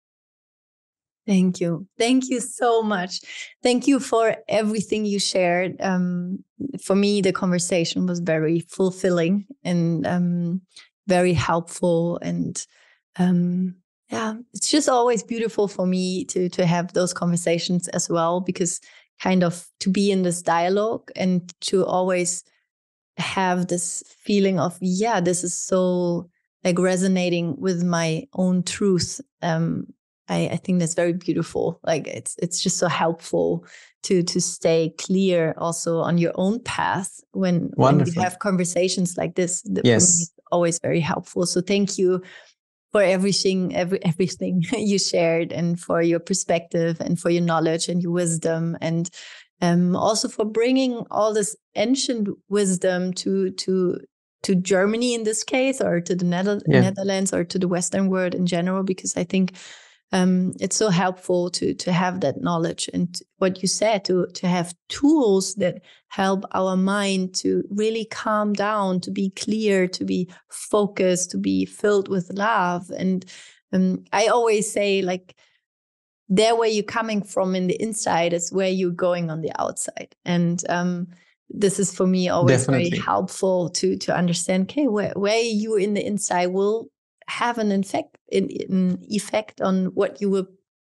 Thank you. Thank you so much. Thank you for everything you shared. Um, for me, the conversation was very fulfilling and um, very helpful. And um, yeah, it's just always beautiful for me to to have those conversations as well, because kind of to be in this dialogue and to always have this feeling of, yeah, this is so like resonating with my own truth. Um, I, I think that's very beautiful. Like it's it's just so helpful to to stay clear also on your own path when, when you have conversations like this. That yes. For me is always very helpful. So thank you for everything, every everything you shared, and for your perspective, and for your knowledge and your wisdom, and um, also for bringing all this ancient wisdom to to to Germany in this case, or to the Nether- yeah. Netherlands, or to the Western world in general, because I think um, it's so helpful to to have that knowledge, and what you said, to to have tools that help our mind to really calm down, to be clear, to be focused, to be filled with love. And um, I always say, like, there where you're coming from in the inside is where you're going on the outside. And um, this is for me always Definitely. Very helpful to to understand, okay, where, where you in the inside will have an effect, an effect on what you will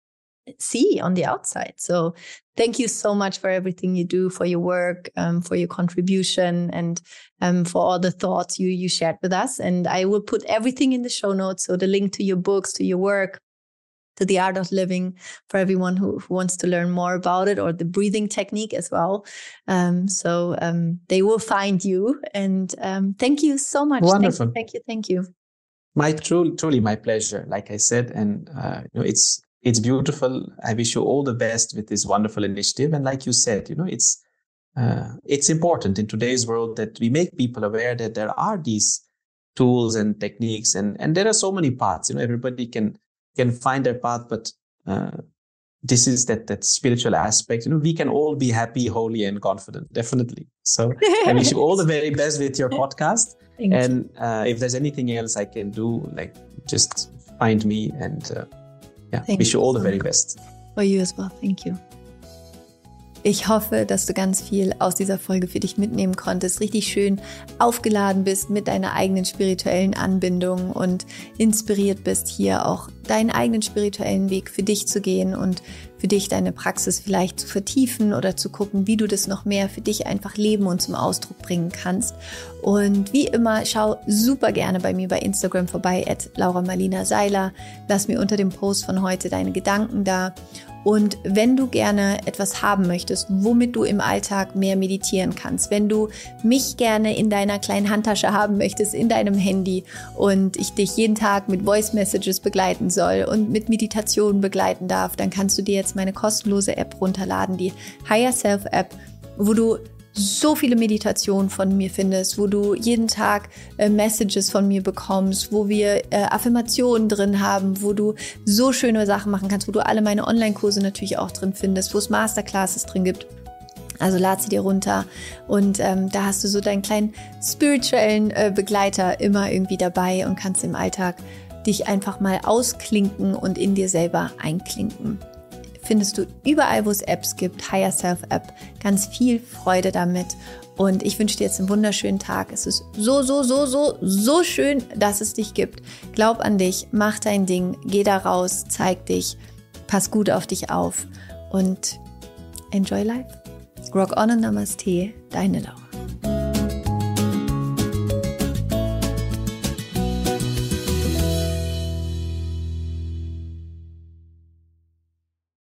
see on the outside. So thank you so much for everything you do, for your work, um, for your contribution, and um, for all the thoughts you you shared with us. And I will put everything in the show notes. So the link to your books, to your work, to the Art of Living, for everyone who, who wants to learn more about it, or the breathing technique as well. Um, so um, they will find you. And um, thank you so much. Wonderful. Thank you. Thank you. Thank you. My truly, truly my pleasure. Like I said, and uh, you know, it's it's beautiful. I wish you all the best with this wonderful initiative. And like you said, you know, it's uh, it's important in today's world that we make people aware that there are these tools and techniques, and and there are so many paths. You know, everybody can can find their path, but uh, this is that that spiritual aspect. You know, we can all be happy, holy, and confident. Definitely. So I wish you all the very best with your podcast. Thank and uh, if there's anything else I can do, like just find me. And uh, yeah, Thank wish you all you the so very much. best. For you as well. Thank you. Ich hoffe, dass du ganz viel aus dieser Folge für dich mitnehmen konntest, richtig schön aufgeladen bist mit deiner eigenen spirituellen Anbindung und inspiriert bist, hier auch deinen eigenen spirituellen Weg für dich zu gehen und für dich deine Praxis vielleicht zu vertiefen oder zu gucken, wie du das noch mehr für dich einfach leben und zum Ausdruck bringen kannst. Und wie immer, schau super gerne bei mir bei Instagram vorbei, at Laura Marlina Seiler. Lass mir unter dem Post von heute deine Gedanken da. Und wenn du gerne etwas haben möchtest, womit du im Alltag mehr meditieren kannst, wenn du mich gerne in deiner kleinen Handtasche haben möchtest, in deinem Handy und ich dich jeden Tag mit Voice Messages begleiten soll und mit Meditationen begleiten darf, dann kannst du dir jetzt meine kostenlose App runterladen, die Higher Self App, wo du so viele Meditationen von mir findest, wo du jeden Tag äh, Messages von mir bekommst, wo wir äh, Affirmationen drin haben, wo du so schöne Sachen machen kannst, wo du alle meine Online-Kurse natürlich auch drin findest, wo es Masterclasses drin gibt. Also lad sie dir runter und ähm, da hast du so deinen kleinen spirituellen äh, Begleiter immer irgendwie dabei und kannst im Alltag dich einfach mal ausklinken und in dir selber einklinken. Findest du überall, wo es Apps gibt, Higher Self App. Ganz viel Freude damit. Und ich wünsche dir jetzt einen wunderschönen Tag. Es ist so, so, so, so, so schön, dass es dich gibt. Glaub an dich, mach dein Ding, geh da raus, zeig dich, pass gut auf dich auf und enjoy life. Rock on und Namaste, deine Laura.